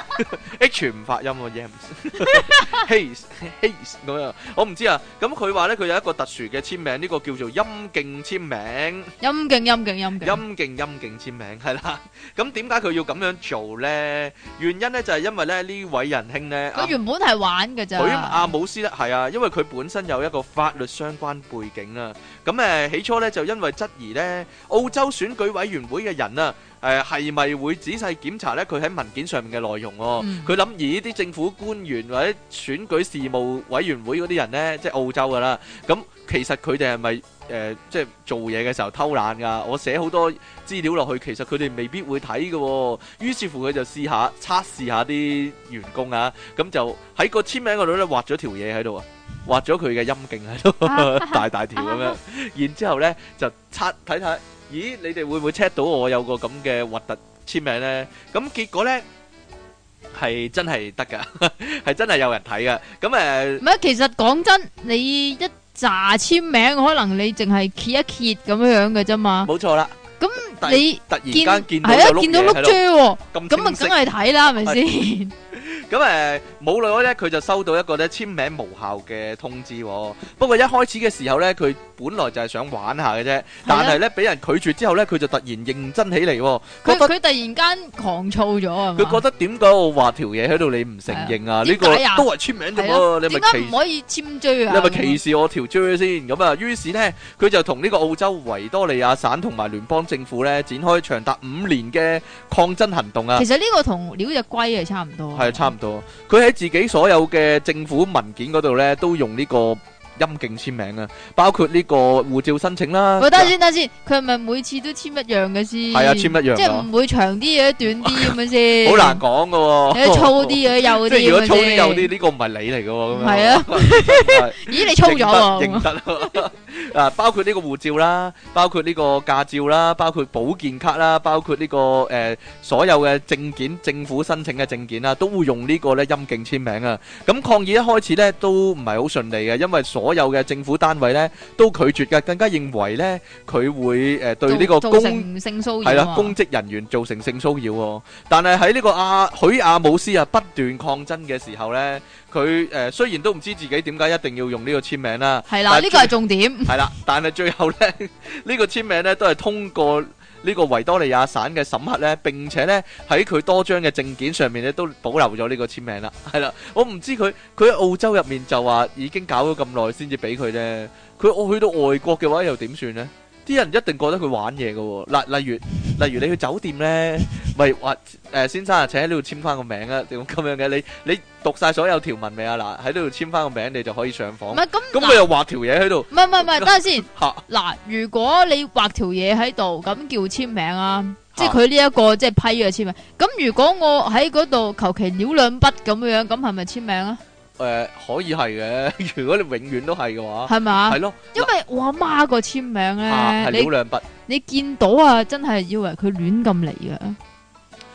[SPEAKER 1] ？H 唔發音喎 ，Yams，Haze 咁樣，我唔知啊。咁佢話咧，佢有一個特殊嘅簽名，呢個叫做陰莖簽名。陰莖簽名係啦。咁點解佢要咁樣做咧？原因咧就係因為咧呢位仁兄咧，佢原本係玩嘅咋。佢阿姆斯咧係啊，因為佢本身有一個法律相關背景啊。咁起初咧就因為質疑咧澳洲選舉委員會嘅人啊。係咪會仔細檢查咧？佢喺文件上面嘅內容佢諗而呢啲政府官員或者選舉事務委員會嗰啲人呢，即係澳洲噶啦。咁其實佢哋係咪即係做嘢嘅時候偷懶噶？我寫好多資料落去，其實佢哋未必會睇嘅。於是乎佢就測試下啲員工啊，咁就喺個簽名嗰度咧畫咗條嘢喺度啊，畫咗佢嘅陰莖喺度，大條咁樣。然之後咧就睇睇。咦，你哋會唔會 check 到我有個咁嘅核突簽名呢？咁結果呢係真係得噶，係真係有人睇噶。咁唔係，其實講真，你一紮簽名，可能你淨係揭一揭咁樣嘅啫嘛。冇錯啦。咁你突然間見到碌啫喎，咁啊，梗係睇啦，係咪先？咁冇耐咧，佢就收到一個咧簽名無效嘅通知。不過一開始嘅時候咧，佢本來就係想玩下嘅啫，但係咧俾人拒絕之後咧，佢就突然認真起嚟。佢突然間狂躁咗啊！佢覺得點解我畫條嘢喺度你唔承認啊？呢個都係簽名啫喎，你咪點解唔可以簽章啊？你咪歧視我條章先咁啊！於是咧，佢就同呢個澳洲維多利亞省同埋聯邦政府咧展開長達5年嘅抗爭行動啊！其實呢個同撩隻龜係差唔多，係差唔多。佢喺自己所有嘅政府文件嗰度咧，都用呢個陰莖簽名啊，包括呢個護照申請啦。等先，佢係咪每次都簽一樣嘅先？係啊，簽一樣，即係唔會長啲嘢，短啲咁樣先。好難講噶喎，有粗啲嘅，幼啲。即係如果粗啲幼啲，呢個唔係你嚟噶喎。咁樣係啊。咦，你粗咗喎？認得啊，包括呢個護照啦，包括呢個駕照啦，包括保健卡啦，包括呢個所有嘅證件，政府申請嘅證件啦，都會用呢個咧陰莖簽名啊。咁抗議一開始咧都唔係好順利嘅，因為所有嘅政府單位咧都拒絕嘅，更加認為咧佢會對呢個造成性騷擾係啦，公職人員造成性騷擾。但係喺呢個許阿姆斯啊不斷抗爭嘅時候咧，佢雖然都唔知自己點解一定要用呢個簽名啦，係啦，呢個係重點。係啦，但係最後咧呢個簽名咧都係通過呢個維多利亞省嘅審核咧，並且咧喺佢多張嘅證件上面咧都保留咗呢個簽名啦。係啦，我唔知佢喺澳洲入面就話已經搞咗咁耐先至俾佢咧，佢去到外國嘅話又點算咧？啲人一定覺得佢玩嘢㗎喎。例如你去酒店咧，咪話先生啊，請喺呢度簽翻個名啊，點咁樣嘅？你讀晒所有條文未啊？嗱，喺呢度簽翻個名，你就可以上房。唔係咁佢又畫條嘢喺度。唔係，等下先。嗱，如果你畫條嘢喺度，咁叫簽名啊，即係佢呢一個即係批嘅簽名。咁如果我喺嗰度求其潦兩筆咁樣，咁係咪簽名啊？可以係嘅，如果你永遠都係嘅話，係咪啊？係咯，因為我阿媽個簽名咧，係潦兩筆，你見到啊，真係以為佢亂咁嚟嘅。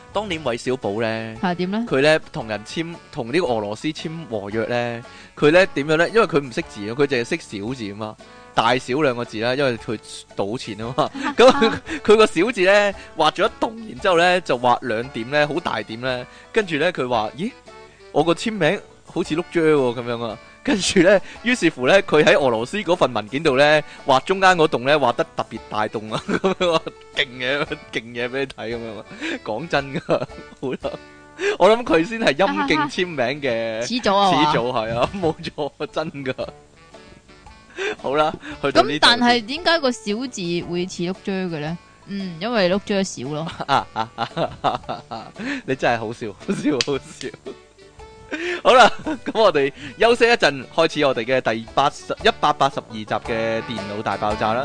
[SPEAKER 1] 當年韋小寶咧
[SPEAKER 2] 係點咧？
[SPEAKER 1] 佢咧同呢個俄羅斯簽和約咧，佢咧點樣咧？因為佢唔識字啊，佢淨係識小字啊嘛，大小兩個字啦，因為佢賭錢啊嘛。咁佢個小字咧畫咗一棟，然之後咧就畫兩點咧，好大點咧。跟住咧佢話：咦，我個簽名好似碌啫喎咁樣啊！跟住咧，於是乎咧，佢喺俄羅斯嗰份文件度咧畫中間嗰棟咧畫得特別大棟啊！咁樣話勁嘢俾你睇咁樣啊！講真噶，好啦，我諗佢先係陰莖簽名嘅
[SPEAKER 2] 始祖啊！
[SPEAKER 1] 始祖係啊，冇錯，真噶。好啦，去到呢度。
[SPEAKER 2] 咁但係點解個小字會似碌啫嘅咧？因為碌啫少咯。
[SPEAKER 1] 你真係好笑，好笑。好啦，咁我哋休息一陣，開始我哋嘅第182集嘅電腦大爆炸啦。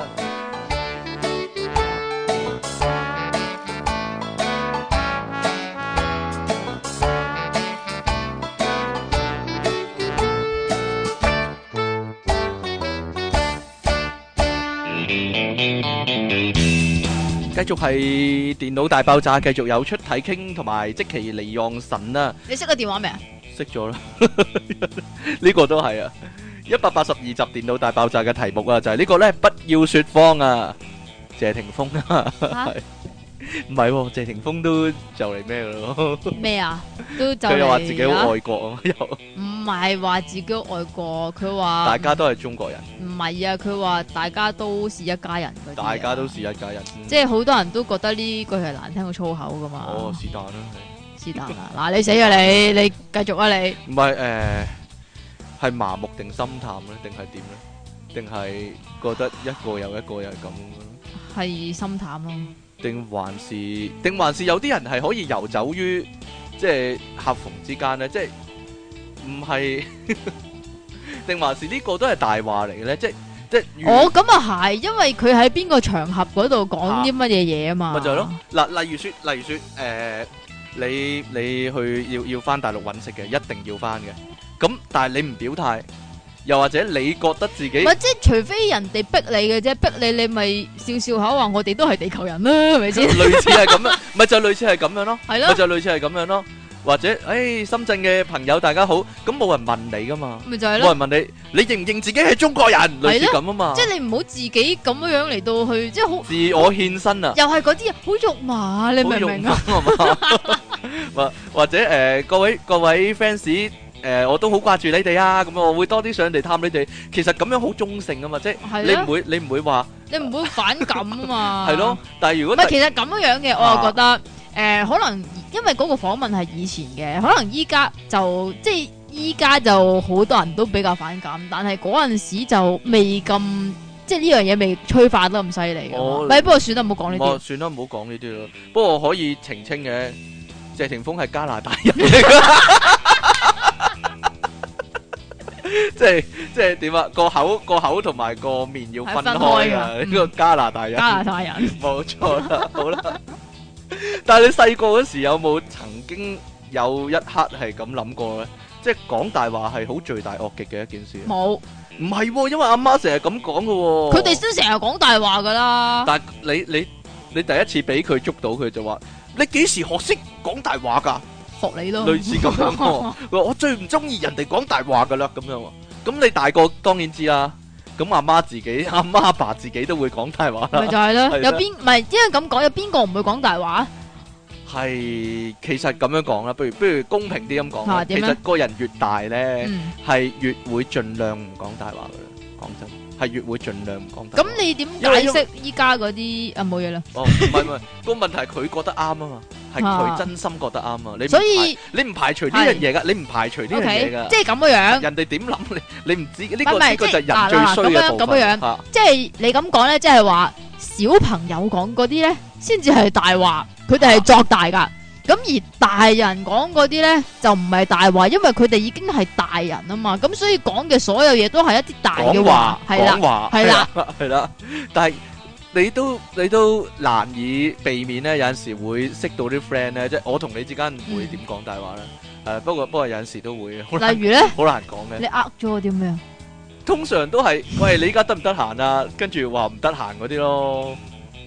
[SPEAKER 1] 繼續係電腦大爆炸，繼續有出體傾同埋積淇離岸神啊！
[SPEAKER 2] 你識個電話未啊？
[SPEAKER 1] 識咗啦，呢個都係啊！182集電腦大爆炸嘅題目啊，就係呢個咧，不要說謊啊！謝霆鋒啊，唔係喎，謝霆鋒都就嚟咩咯？咩啊？都就佢又話自己好愛國啊，又唔係話自己好愛國，佢話大家都係中國人。唔係啊，佢話大家都是一家人嗰啲。大家都是一家人，即係好多人都覺得呢句係難聽過粗口噶嘛。哦，是但啦，係。是但啦，嗱你死啊你繼續啊你。唔係係麻木定心淡咧，定係點咧？定係覺得一個又一個又係咁樣？係心淡咯。定還是有啲人係可以游走於即係夾縫之間咧？即係唔係？定還是呢個都係大話嚟嘅咧？即哦咁啊係，因為佢喺邊個場合嗰度講啲乜嘢嘢啊嘛。咪就係咯。嗱，例如說你去要翻大陸揾食嘅，一定要翻嘅。咁但係你唔表態，又或者你覺得自己唔係，即係除非人哋逼你嘅啫，逼你咪笑笑口話我哋都係地球人啦，係咪先？類似係咁樣，咪就類似係咁樣咯，係咯，咪就類似係咁樣咯。或者深圳嘅朋友大家好，咁冇人問你噶嘛，咪就係咯，冇人問你認唔認自己係中國人，類似咁啊嘛。即係你唔好自己咁樣嚟到去，即係好自我獻身啊，又係嗰啲好肉麻，你明唔明啊？或者各位 fans。我都好掛住你哋啊！咁我會多啲上嚟探你哋。其實咁樣好中性啊嘛，即係你唔會話，你唔會反感啊嘛。係咯，但係如果唔係，其實咁樣嘅，我又覺得可能因為嗰個訪問係以前嘅，可能依家就即係依家就好多人都比較反感，但係嗰陣時就未咁，即係呢樣嘢未催化得咁犀利嘅。咪不過算啦，唔好講呢啲。算啦，唔好講呢啲咯。不過可以澄清嘅，謝霆鋒係加拿大人嚟㗎。即係點啊？個口同埋個面要分開啊！呢個加拿大人，冇錯啦。好啦，但係你細個嗰時有冇曾經有一刻係咁諗過咧？即係講大話係好罪大惡極嘅一件事。冇，唔係，因為阿媽成日咁講噶。佢哋都成日講大話噶啦。但係你第一次俾佢捉到，佢就話：你幾時學識講大話噶？學你咯，類似咁樣。我最唔中意人哋講大話噶啦，咁樣。咁你大個當然知啦。咁阿媽阿爸自己都會講大話啦。咪就係咯，有邊唔係因為咁講，有邊個唔會講大話？係其實咁樣講啦，不如公平啲咁講。其實個人越大咧，係越會盡量唔講大話噶啦。講真，係越會盡量唔講大話。咁你點解釋依家嗰啲冇嘢啦？哦，唔係個問題係佢覺得啱啊嘛。係佢真心覺得啱啊！所以你唔排除呢樣嘢噶，你唔排除呢樣嘢噶，即係咁樣。人哋點諗你唔知呢個就係人最衰嘅部分。咁樣，即係你咁講咧，即係話小朋友講嗰啲咧，先至係大話，佢哋係作大噶。咁而大人講嗰啲咧，就唔係大話，因為佢哋已經係大人啊嘛。咁所以講嘅所有嘢都係一啲大嘅話，係啦，係啦，但係。你都難以避免咧，有陣時會識到啲 friend 咧，即係我同你之間唔會點講大話咧。不過有陣時都會。例如咧，好難講嘅。你咗我啲咩啊？通常都係，喂，你依家得唔得閒啊？跟住話唔得閒嗰啲咯。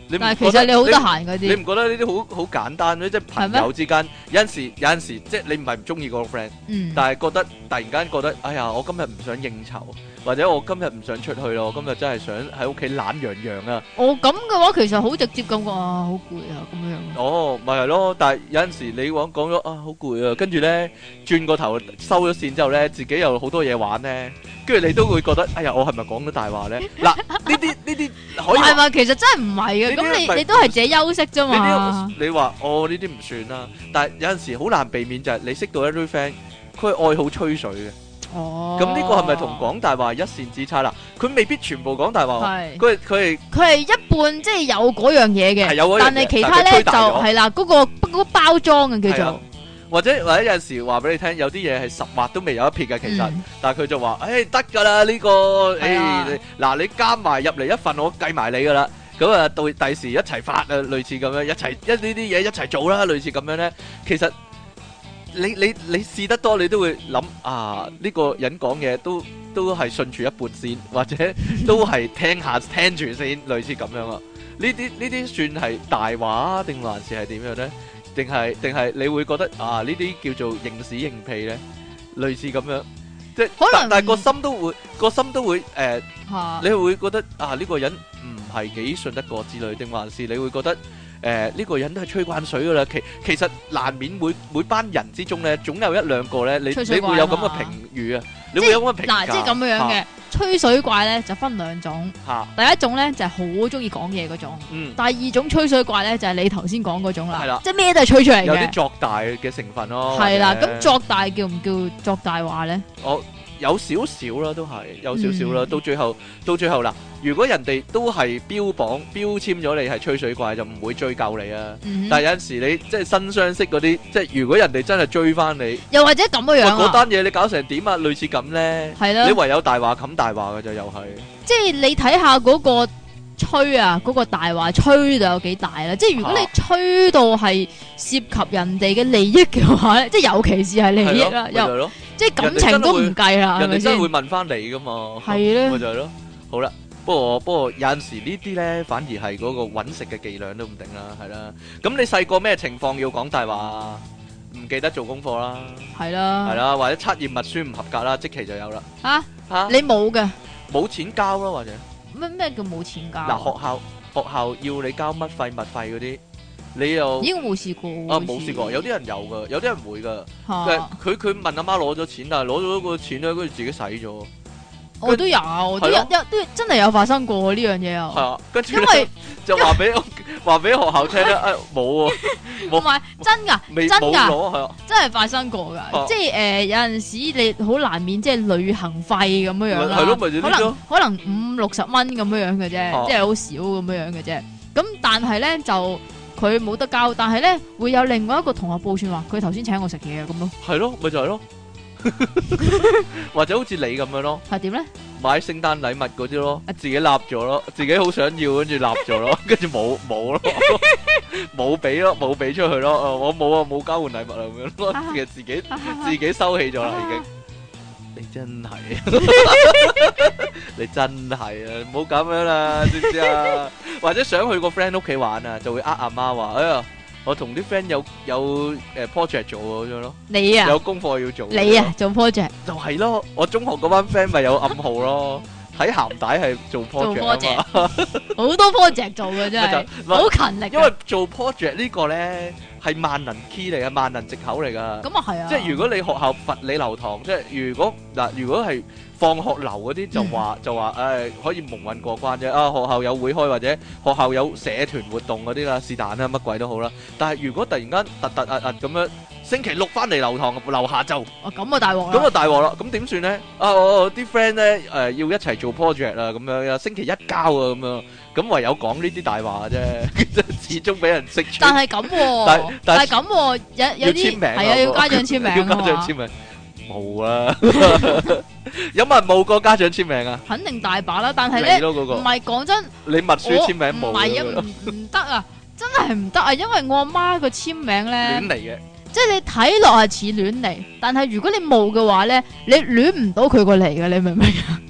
[SPEAKER 2] 但係其實你好得閒嗰啲，
[SPEAKER 1] 你唔覺得呢啲好簡單咩？即係朋友之間有陣時，即係你唔係唔中意嗰個 friend，但係突然間覺得，哎呀，我今日唔想應酬，或者我今日唔想出去咯，我今日真係想喺屋企懶洋洋啊！
[SPEAKER 2] 哦，咁嘅話其實好直接咁講啊，好攰啊咁樣。
[SPEAKER 1] 哦，咪係咯，但係有陣時你講咗啊，好攰啊，跟住咧轉個頭收咗線之後咧，自己有好多嘢玩咧，跟住你都會覺得，哎呀，我係咪講咗大話咧？嗱，呢啲可以係嘛？
[SPEAKER 2] 其實真係唔係嘅，咁你都係自己休息啫嘛。
[SPEAKER 1] 你話哦呢啲唔算啦，但係有陣時好難避免就係你識到一堆 friend，佢係愛好吹水嘅。哦，咁呢個係咪同講大話一線之差啦？佢未必全部講大話，佢
[SPEAKER 2] 係一半即係有嗰樣嘢嘅，但係其他咧就係啦，嗰個包裝嘅叫做。
[SPEAKER 1] 或者有陣時話俾你聽，有啲嘢係十劃都未有一撇嘅，其實，但係佢就話，得㗎啦呢個，嗱你加埋入嚟一份，我計埋你㗎啦。咁啊，到第時一齊發啊，類似咁樣，呢啲嘢一齊做啦，類似咁樣咧。其實你試得多，你都會諗啊，呢個人講嘢都係順住一半先，或者都係聽住先，類似咁樣啊。呢啲算係大話定還是係點樣咧？定係你會覺得啊呢啲叫做認屎認屁咧，類似咁樣，即係但係個心都會你會覺得啊呢個人唔係幾信得過之類，定還是你會覺得呢個人都係吹慣水噶啦？其實難免每班人之中咧，總有一兩個咧，你會有咁嘅評語啊，你會有咁嘅評價。嗱，即係咁樣嘅。
[SPEAKER 2] 吹水怪咧就分兩種，第一種咧就係好中意講嘢嗰種，第二種吹水怪咧就係你頭先講嗰種啦，即係咩都係吹出嚟嘅，
[SPEAKER 1] 有啲作大嘅成分咯。
[SPEAKER 2] 係啦，咁作大叫唔叫作大話咧？
[SPEAKER 1] 我有少少啦，都係有少少啦。到最後嗱，如果人哋都係標籤咗你係吹水怪，就唔會追究你啊。但係有陣時你即係新相識嗰啲，即係如果人哋真係追翻你，
[SPEAKER 2] 又或者咁嘅樣啊，
[SPEAKER 1] 嗰單嘢你搞成點啊？類似咁咧，
[SPEAKER 2] 係啦，
[SPEAKER 1] 你唯有大話冚大話嘅就又係。
[SPEAKER 2] 即係你睇下嗰個吹啊，嗰個大話吹到有幾大啦？即係如果你吹到係涉及人哋嘅利益嘅話咧，即係尤其是係利益啦，又即係感情都唔計啦，
[SPEAKER 1] 人哋真係會問翻你噶嘛？
[SPEAKER 2] 係咧，
[SPEAKER 1] 咪就係咯。好啦，不過有陣時呢啲咧，反而係嗰個揾食嘅伎倆都唔定啦，係啦。咁你細個咩情況要講大話？唔記得做功課啦，係啦，或者測驗默書唔合格啦，即期就有啦。
[SPEAKER 2] 吓，你冇嘅，
[SPEAKER 1] 冇錢交咯，或者
[SPEAKER 2] 咩叫冇錢交？
[SPEAKER 1] 嗱，學校要你交乜費物費嗰啲。你又
[SPEAKER 2] 已經冇試過
[SPEAKER 1] 啊？冇試過，有啲人有噶，有啲人會噶。佢問阿媽攞咗錢，但係攞咗個錢咧，跟住自己使咗。
[SPEAKER 2] 我都有，都真係有發生過呢樣嘢啊！
[SPEAKER 1] 係啊，跟住因為就話俾學校聽咧，冇喎，
[SPEAKER 2] 唔係真噶，真噶，
[SPEAKER 1] 係啊，
[SPEAKER 2] 真係發生過噶。即係有陣時你好難免即係旅行費咁樣樣啦，
[SPEAKER 1] 係咯，咪就呢啲咯，
[SPEAKER 2] 可能50-60蚊咁樣樣嘅啫，即係好少咁樣樣嘅啫。咁但係咧就佢冇得交，但係咧會有另外一個同學報串話，佢頭先請我食嘢咁咯。
[SPEAKER 1] 係咯，咪就係咯。或者好似你咁樣咯，
[SPEAKER 2] 係點咧？
[SPEAKER 1] 買聖誕禮物嗰啲咯，自己立咗咯，自己好想要，跟住立咗咯，跟住冇咯，冇俾咯，冇俾出去咯，我冇啊，冇交換禮物啊咁樣咯，其實自己收起咗啦已經。你真係，你真係啊，唔好咁樣啦，知唔知啊？或者想去個 friend 屋企玩啊，就會阿媽話，哎呀。我同啲 friend 有project 做咁樣咯，
[SPEAKER 2] 你啊
[SPEAKER 1] 有功課要做，
[SPEAKER 2] 你啊做 project
[SPEAKER 1] 就係咯，我中學嗰班 friend 咪有暗號咯，睇鹹帶係做 project 啊嘛，
[SPEAKER 2] 好多 project 做嘅真係，好勤力。
[SPEAKER 1] 因為做 project 呢個咧係萬能 key 嚟嘅，萬能藉口嚟噶。
[SPEAKER 2] 咁啊係啊，
[SPEAKER 1] 即係如果你學校罰你留堂，即係如果係放學留嗰啲就話可以蒙混過關啫。啊，學校有會開或者學校有社團活動嗰啲啦，是但啦，乜鬼都好啦。但係如果突然間突咁樣星期六翻嚟留堂留下晝，
[SPEAKER 2] 咁啊大鑊啦！
[SPEAKER 1] 咁啊大鑊啦！咁點算咧？我啲 friend 咧要一齊做 project 啊，咁樣星期一交啊，咁樣咁唯有講呢啲大話啫，始終俾人識穿。
[SPEAKER 2] 但係咁，但係咁，有啲係啊，要家長簽名，
[SPEAKER 1] 要家長簽名。冇啊！有冇人冇過家長簽名啊？
[SPEAKER 2] 肯定大把啦，但係咧唔係講真，
[SPEAKER 1] 你默書簽名冇？
[SPEAKER 2] 唔係啊，唔得啊，真係唔得啊！因為我阿媽個簽名咧
[SPEAKER 1] 亂嚟嘅，
[SPEAKER 2] 即係你睇落係似亂嚟，但係如果你冇嘅話咧，你亂唔到佢個嚟嘅，你明唔明啊？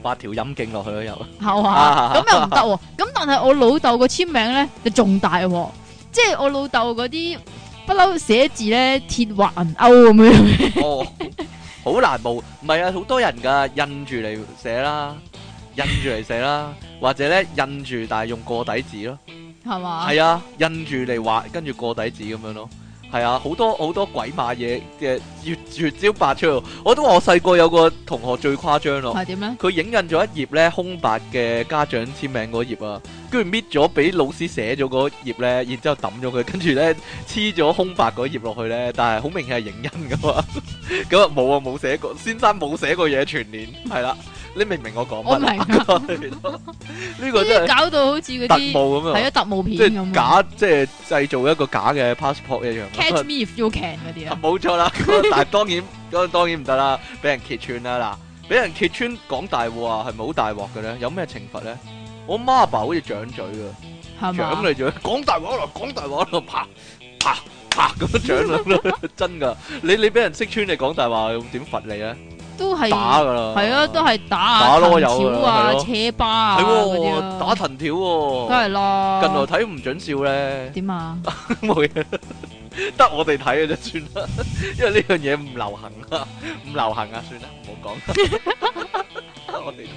[SPEAKER 1] 畫條陰莖落去咯，又
[SPEAKER 2] 係嘛？咁又唔得喎。咁但係我老豆個簽名咧就仲大喎，即係我老豆嗰啲不嬲寫字咧鐵畫銀鈎咁樣。
[SPEAKER 1] 哦，好難冇，唔係啊，好多人噶印住嚟寫啦，或者咧印住但係用過底紙咯，
[SPEAKER 2] 係嘛？
[SPEAKER 1] 係啊，印住嚟畫，跟住過底紙咁樣咯。係啊，好多鬼馬嘢嘅越招百出。我都話我細個有個同學最誇張咯。
[SPEAKER 2] 係點咧？
[SPEAKER 1] 佢影印咗一頁咧空白嘅家長簽名嗰頁啊，跟住搣咗俾老師寫咗嗰頁咧，然之後抌咗佢，跟住咧黐咗空白嗰頁落去咧，但係好明顯係影印噶嘛。咁啊冇寫過，先生冇寫過嘢全年，係啦。你明唔明我講乜？
[SPEAKER 2] 我明
[SPEAKER 1] 呢個真係
[SPEAKER 2] 搞到好似嗰啲
[SPEAKER 1] 特務咁樣，
[SPEAKER 2] 係啊，特務片咁，
[SPEAKER 1] 假即係製造一個假嘅 passport 一樣。
[SPEAKER 2] Catch me if you can 嗰啲啊，
[SPEAKER 1] 冇錯啦。但係當然唔得啦，俾人揭穿啦。嗱，俾人揭穿講大話啊，係咪好大鑊嘅咧？有咩懲罰咧？我媽阿爸好似掌嘴噶，
[SPEAKER 2] 係嘛？
[SPEAKER 1] 掌你嘴，講大話啦，講大話啦，啪啪啪咁樣掌啦，真噶。你俾人識穿你講大話，點罰你咧？都係打噶啦，係啊，都係打啊，藤條啊，車巴啊，係喎，打藤條喎，梗係啦。近來睇唔準笑咧，點啊？冇嘢，得我哋睇嘅就算啦，因為呢樣嘢唔流行啊，唔流行啊，算啦，唔好講。我哋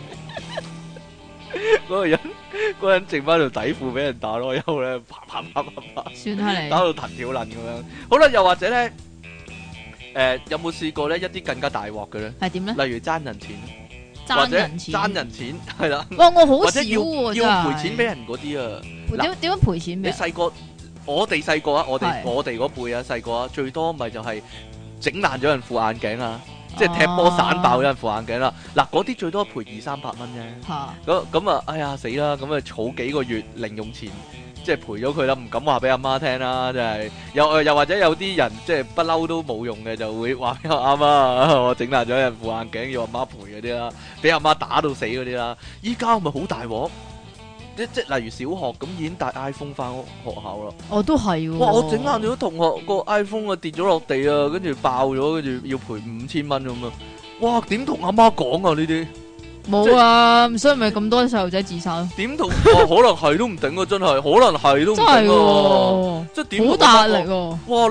[SPEAKER 1] 嗰個人剩翻條底褲俾人打囉柚咧，啪啪啪啪啪，算係你打到藤條撚咁樣。好啦，又或者咧。有冇試過咧一啲更加大鑊嘅咧？係點咧？例如爭人錢，或者爭人錢，係啦。哇！我好少喎，要賠錢俾人嗰啲啊。點樣賠錢俾？你細個，我哋細個啊，我哋嗰輩啊，細個啊，最多咪就係整爛咗人副眼鏡啊，即係踢波散爆咗人副眼鏡啦。嗱，嗰啲最多賠200-300蚊啫。咁啊，哎呀死啦！咁啊，儲幾個月零用錢。即係賠咗佢啦，唔敢話俾阿媽聽啦，真係又或者有啲人即係不嬲都冇用嘅，就會話俾阿媽我整爛咗人副眼鏡，要阿媽賠嗰啲啦，俾阿媽打到死嗰啲啦。依家咪好大鑊，即例如小學咁已經帶 iPhone 翻學校啦。哦，都係喎。哇！我整爛咗同學個 iPhone 啊，跌咗落地啊，跟住爆咗，跟住要賠5000蚊咁啊！哇！點同阿媽講啊呢啲？冇啊，所以咪咁多細路仔自殺咯。點同？可能係都唔頂啊，真係，可能係都唔頂啊。即係點？好大壓力喎！哇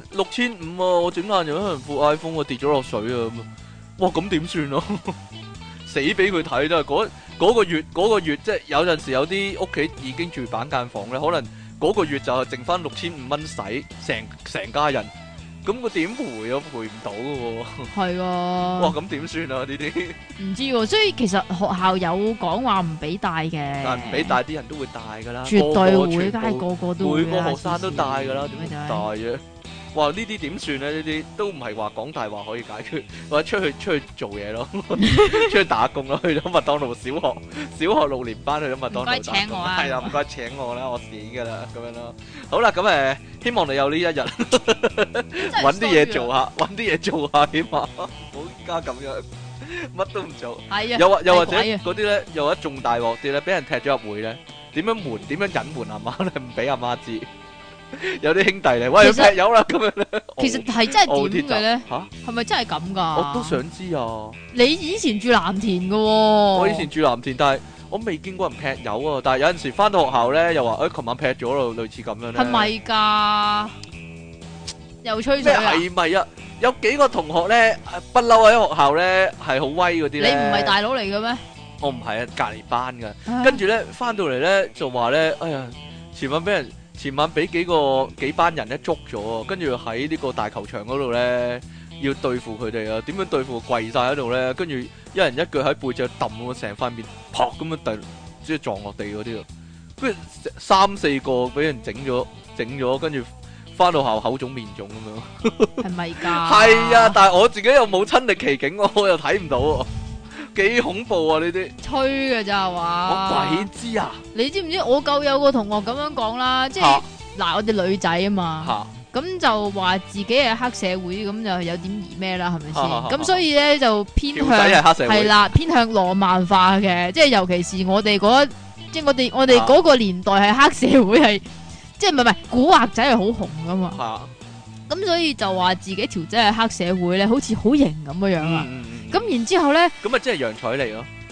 [SPEAKER 1] ，6500啊！我整爛咗人副 iPhone 啊，跌咗落水啊！哇，咁點算啊？死俾佢睇都係嗰個月，即係有陣時有啲屋企已經住板間房咧，可能嗰個月就係剩翻6500蚊使，成家人。咁佢點賠啊？賠唔到嘅喎。係啊。哇！咁點算啊？呢啲唔知喎，所以其實學校有講話唔俾帶嘅。但係唔俾帶，啲人都會帶㗎啦。絕對會，梗係個個都會。每個學生都帶㗎啦，點解唔帶啫？哇！呢啲點算咧？呢啲都唔係話講大話可以解決，或者出去做嘢咯，出去打工咯，去咗麥當勞小學6年班去咗麥當勞打工。唔該請我啊！係啊，唔該請我啦，我死㗎啦，咁樣咯。好啦，咁希望你有呢一日揾啲嘢做下，起碼唔好而家咁樣乜都唔做。係啊，又或者嗰啲咧，又一仲大鑊啲咧，俾人踢咗入會咧，點樣隱瞞阿媽咧？唔俾阿媽知。有啲兄弟嚟，喂，劈友啦咁樣咧。其實係真係點嘅咧？吓，係咪真係咁噶？我都想知啊。你以前住藍田噶？我以前住藍田，但係我未見過人劈友啊。但係有陣時翻到學校咧，又話誒，琴晚劈咗咯，類似咁樣咧。係咪噶？又吹水啊？係咪啊？有幾個同學咧，不嬲喺學校咧係好威嗰啲咧。你唔係大佬嚟嘅咩？我唔係啊，隔籬班噶。跟住咧翻到嚟咧就話咧，哎呀，前晚俾幾班人咧捉咗，跟住喺呢個大球場嗰度咧要對付佢哋啊！點樣對付？跪晒喺度咧，跟住一人一腳喺背脊揼我，成塊面撲咁樣即係撞落地嗰啲啊！跟住3-4個俾人整咗，跟住翻到校口腫面腫咁樣，係咪㗎？係啊，但係我自己又冇親歷其境，我又睇唔到喎。幾恐怖啊！呢啲吹嘅咋係嘛？我鬼知啊！你知唔知我舊有個同學咁樣講啦？即係嗱，我哋女仔啊嘛，咁就話自己係黑社會，咁就有點疑咩啦？係咪先？咁所以咧就偏向係啦，偏向浪漫化嘅，即係尤其是我哋即係我哋嗰個年代係黑社會係，即係唔係古惑仔係好紅噶嘛？咁所以就話自己條仔係黑社會咧，好似好型咁樣樣啊！咁然之後咧，咁咪即係楊采妮咯？點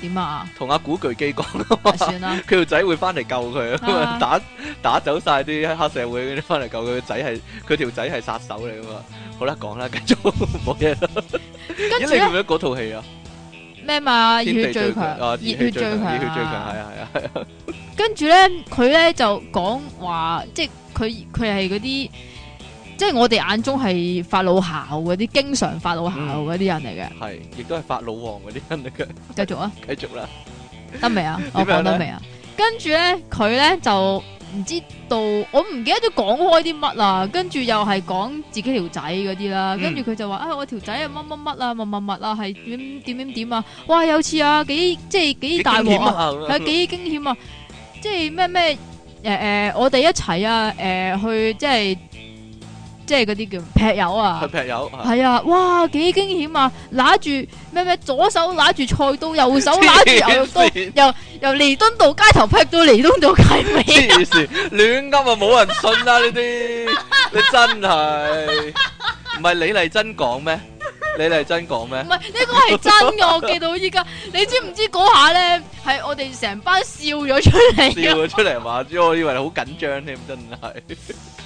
[SPEAKER 2] 點啊？
[SPEAKER 1] 同阿古巨基講
[SPEAKER 2] 算啦，
[SPEAKER 1] 佢條仔會翻嚟救佢啊，打走晒啲黑社會嗰啲翻嚟救佢，佢條仔係殺手嚟噶嘛。好啦，講啦，繼續冇嘢啦。咦，你記唔記得嗰套戲啊？
[SPEAKER 2] 咩嘛？熱血最強，熱血最強，係啊。跟住咧，佢咧就講話，即係佢係嗰啲，即係我哋眼中係發老姣嗰啲，經常發老姣嗰啲人嚟嘅。
[SPEAKER 1] 係，亦都係發老王嗰啲人嚟嘅。
[SPEAKER 2] 繼續啊！
[SPEAKER 1] 繼續啦，
[SPEAKER 2] 得未啊？我講得未啊？跟住咧，佢咧就唔知道，我唔記得咗講開啲乜啦。跟住又係講自己條仔嗰啲啦。跟住佢就話啊，我條仔啊乜乜乜啊，乜啊，係點啊！哇，有次啊，幾大鑊啊，係幾驚險啊！即係咩我哋一齊啊，去即係嗰啲叫劈友啊，
[SPEAKER 1] 去劈友
[SPEAKER 2] 係啊，哇，幾驚險啊！揦住咩左手揦住菜刀，右手揦住牛肉刀，由彌敦道街頭劈到彌敦道街尾。
[SPEAKER 1] 黐線，亂噏啊，冇人信啦呢啲，你真係唔係李麗珍講咩？李麗珍講咩？唔係
[SPEAKER 2] 呢個係真嘅，我記到依家。你知唔知嗰下咧係我哋成班笑咗出嚟？
[SPEAKER 1] 笑咗出嚟嘛？我以為你好緊張添，真係。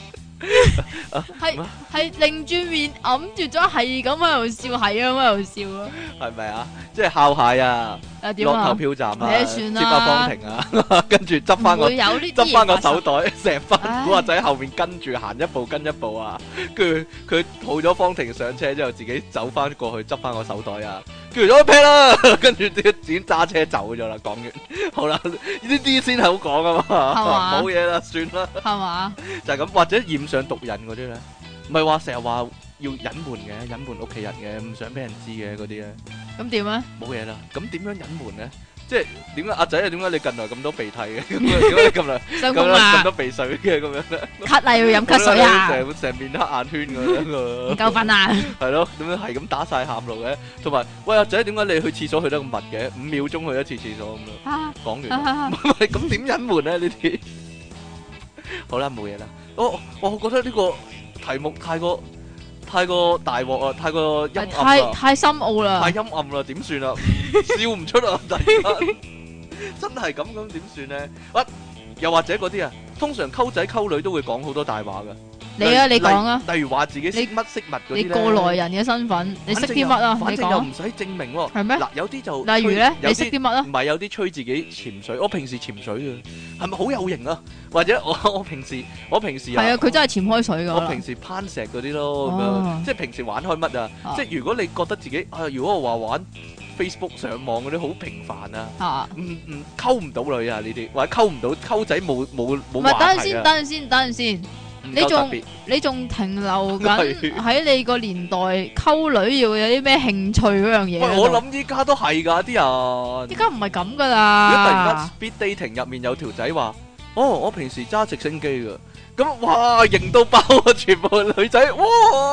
[SPEAKER 2] 係擰住面揞住咗，係咁喺度笑，係咁喺度笑咯。係
[SPEAKER 1] 咪啊？即係烤蟹啊，落投票站啊，接下方停啊，跟住執翻個手袋，成班古惑仔後面跟住行一步跟一步啊。跟住佢抱咗方婷上車之後，自己走翻過去執翻個手袋啊。叫咗一劈啦，跟住啲剪揸車走咗啦。講完好啦，呢啲先係好講啊嘛，冇嘢啦，算啦，
[SPEAKER 2] 係嘛？
[SPEAKER 1] 就係咁，或者染上毒癮嗰啲咧，唔係話成日話要隱瞞嘅，隱瞞屋企人嘅，唔想俾人知嘅嗰啲咧，
[SPEAKER 2] 咁點咧？
[SPEAKER 1] 冇嘢啦，咁點樣隱瞞咧？即係點解阿仔啊？點解你近來咁多鼻涕嘅？點解你近來咁多鼻水嘅咁樣咧？
[SPEAKER 2] 咳啊！要飲咳水啊！
[SPEAKER 1] 成面黑眼圈咁樣
[SPEAKER 2] 唔夠瞓啊！係
[SPEAKER 1] 咯，點樣係咁打晒喊路嘅？同埋喂，阿仔，點解你去廁所去得咁密嘅？5秒鐘去一次廁所咁樣。講完，咁點隱瞞咧？呢啲好啦，冇嘢啦。我覺得呢個題目太過大鑊啊，太過陰暗啦，
[SPEAKER 2] 太深奧啦，
[SPEAKER 1] 太陰暗啦，點算啊？笑唔出啊！突然間真係咁點算咧？又或者嗰啲啊，通常溝仔溝女都會講好多大話噶。你講啊，例如話自己識乜識物嗰啲咧。你過來人嘅身份，你識啲乜啊？
[SPEAKER 2] 你講。
[SPEAKER 1] 反正又唔使證明喎。係咩？嗱，有啲就
[SPEAKER 2] 例如咧，你識啲乜啊？
[SPEAKER 1] 唔係有啲吹自己潛水，我平時潛水嘅，係咪好有型啊？或者我平時係
[SPEAKER 2] 啊，佢真係潛開水噶。
[SPEAKER 1] 我平時攀石嗰啲咯，咁樣即係平時玩開乜啊？即係如果你覺得自己如果我話玩 Facebook 上網嗰啲好平凡啊，溝唔到女啊呢啲，或者溝唔到溝仔冇話題啊。
[SPEAKER 2] 等陣先。你仲停留緊喺你個年代溝女要有啲咩興趣嗰樣嘢？
[SPEAKER 1] 喂，我諗依家都係噶啲人。
[SPEAKER 2] 依家唔係咁噶啦。
[SPEAKER 1] 如果突然間 speed dating 入面有條仔話，我平時揸直升機噶，咁哇型到爆啊！全部女仔哇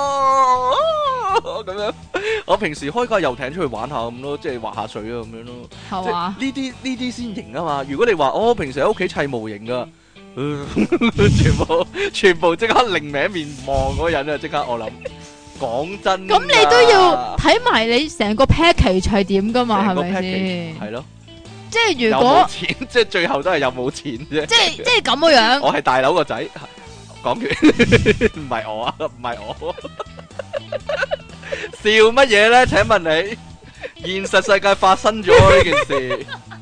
[SPEAKER 1] 咁樣。我平時開架遊艇出去玩下咁咯，即係滑下水啊咁樣咯。係嘛？呢啲先型啊嘛。如果你話我平時喺屋企砌模型噶。全部即刻另名面望嗰人啊！即刻我諗，講真，
[SPEAKER 2] 咁你都要睇埋你成個 package 係點噶嘛？係咪先？
[SPEAKER 1] 係咯，
[SPEAKER 2] 即係如果
[SPEAKER 1] 錢，即係最後都係有冇錢啫。
[SPEAKER 2] 即係咁嘅樣。
[SPEAKER 1] 我係大佬個仔，講完唔係我啊，唔係我，笑乜嘢咧？請問你，現實世界發生咗呢件事。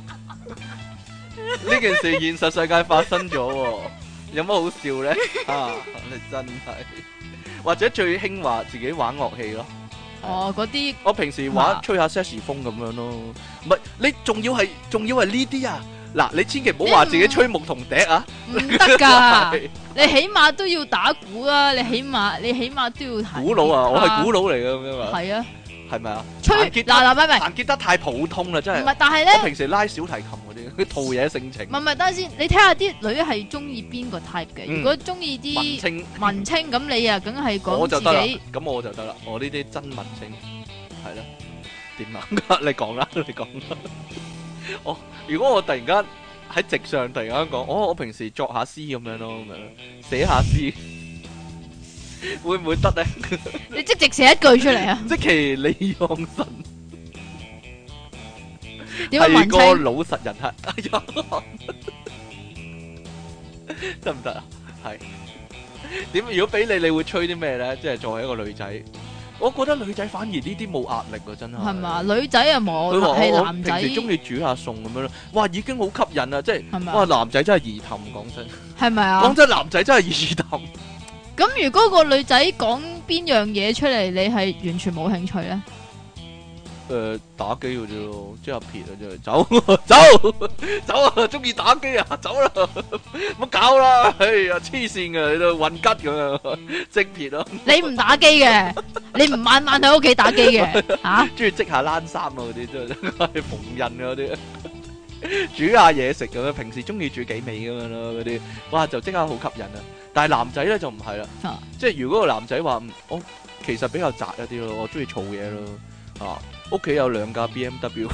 [SPEAKER 1] 呢件事現實世界發生咗，有乜好笑咧？你真係，或者最興話自己玩樂器咯。
[SPEAKER 2] 嗰啲
[SPEAKER 1] 我平時吹下 saxophone 風咁樣咯。唔係你仲要係呢啲啊？嗱，你千祈唔好話自己吹牧童笛啊，
[SPEAKER 2] 唔得噶。你起碼都要打鼓啊，你起碼都要彈。
[SPEAKER 1] 鼓佬啊，我係鼓佬嚟嘅咁樣啊。
[SPEAKER 2] 係啊。
[SPEAKER 1] 係咪啊？
[SPEAKER 2] 吹嗱，
[SPEAKER 1] 彈吉他太普通啦，真係。
[SPEAKER 2] 唔係，但係咧，
[SPEAKER 1] 我平時拉小提琴嗰啲，佢陶冶性情。
[SPEAKER 2] 唔係，等陣先，你睇下啲女係中意邊個 type 嘅？如果中意啲文青，咁你啊，梗係講自己。
[SPEAKER 1] 咁我就得啦，我呢啲真文青，係啦。點啊？你講啦，你講啦。如果我突然間喺直上突然間講，我平時作下詩咁樣咯，咁樣寫下詩。會唔會得咧？
[SPEAKER 2] 你即直寫一句出嚟啊！
[SPEAKER 1] 積淇離岸神係個老實人係，哎呀，得唔得啊？係點？如果俾你會吹啲咩咧？即係作為一個女仔，我覺得女仔反而呢啲冇壓力啊，真係。係
[SPEAKER 2] 嘛？女仔啊冇，係男仔。
[SPEAKER 1] 平時中意煮下餸咁樣咯，哇，已經好吸引啦！即係哇，男仔真係易氹，講真。係咪啊？講真，男仔真係易氹。
[SPEAKER 2] 咁如果個女仔講邊樣嘢出嚟，你係完全冇興趣咧？
[SPEAKER 1] 打機嘅啫咯，即係撇啊，即係走啊，中意打機啊，走啦，唔好搞啦，哎呀，黐線嘅，你都混吉咁樣，即撇咯。你唔打機嘅，你唔晚晚喺屋企打機嘅，吓？中意織下冷衫啊，嗰啲真係縫紉啊，嗰啲，煮下嘢食咁樣，平時中意煮幾味咁樣咯，嗰啲，哇，就即刻好吸引啊！但係男仔咧就唔係啦，即係如果個男仔話，我其實比較宅一啲咯，我中意儲嘢咯，啊。屋企有2架 BMW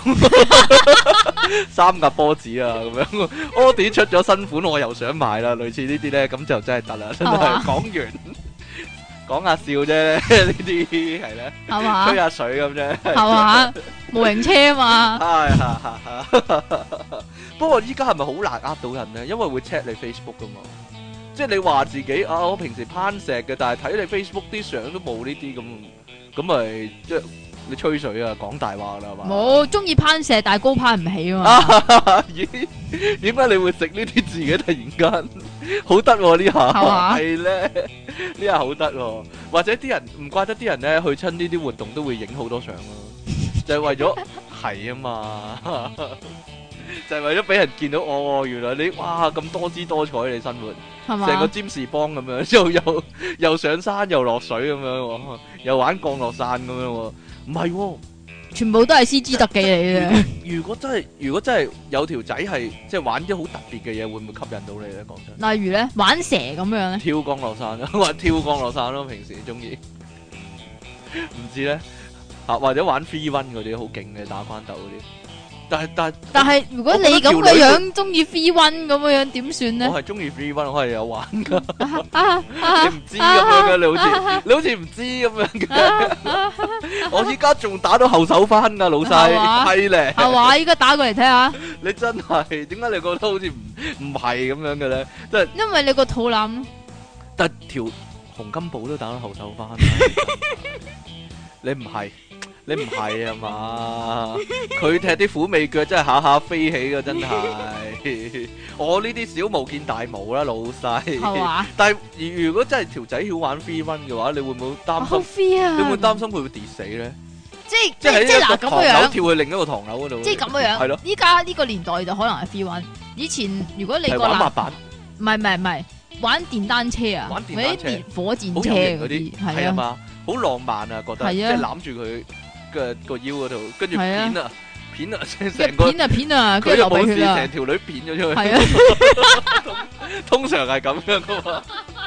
[SPEAKER 1] 3架波子啊，咁樣Audi出咗新款，我又想買啦。類似呢啲咧，咁就真係得啦。真係講完講下笑啫，呢啲係咧，吹下水咁啫，係嘛？模型車啊嘛。不過依家係咪好難呃到人咧？因為會 check 你 Facebook 噶嘛。即係你話自己啊，我平時攀石嘅，但係睇你 Facebook 啲相都冇呢啲咁咪即係。你吹水啊，講大話啦，係嘛？冇中意攀石，但係高攀唔起啊嘛。咦？點解你會食呢啲字嘅？突然間好得呢下，係咧呢下好得，或者啲人唔怪得啲人咧去親呢啲活動都會影好多相咯，就係為咗係啊嘛，就係為咗俾人見到哦，原來你哇咁多姿多彩你生活，係嘛？成個占士邦咁樣，又上山又落水咁樣，又玩降落傘咁樣。唔係，全部都係 CG 特技嚟嘅。如果真係有條仔係即係玩啲好特別嘅嘢，會唔會吸引到你咧？講真，例如咧玩蛇咁樣咧，跳降落傘咯，或跳降落傘咯，平時中意。唔知咧，或者玩 free run 嗰啲好勁嘅打關鬥嗰啲。但係如果你咁嘅樣中意 free run 咁嘅樣點算咧？我係中意 free run，我係有玩噶。你唔知咁樣嘅，你好似唔知咁樣嘅。我依家仲打到後手翻噶，老細係咧。係話依家打過嚟睇下。你真係點解你覺得好似唔係咁樣嘅咧？即係因為你個肚腩。但條洪金寶都打到後手翻。你唔係。你唔係啊嘛？佢踢啲虎尾腳真係下下飛起噶，真係。我呢啲小巫見大巫啦，老細。係嘛？但係如果真係條仔曉玩 free run 嘅話，你會唔會擔心？你會唔會擔心佢會跌死咧？即係嗱咁嘅樣，跳去另一個唐樓嗰度。即係咁嘅樣。係咯。依家呢個年代就可能係 free run。以前如果你個玩滑板，唔係玩電單車啊，或者電火箭車嗰啲，係啊嘛，好浪漫啊，覺得即係攬住佢。個腰嗰度，跟住片啊，成個片啊，佢又冇事，成條女片咗出去。係啊，通常係咁樣噶嘛。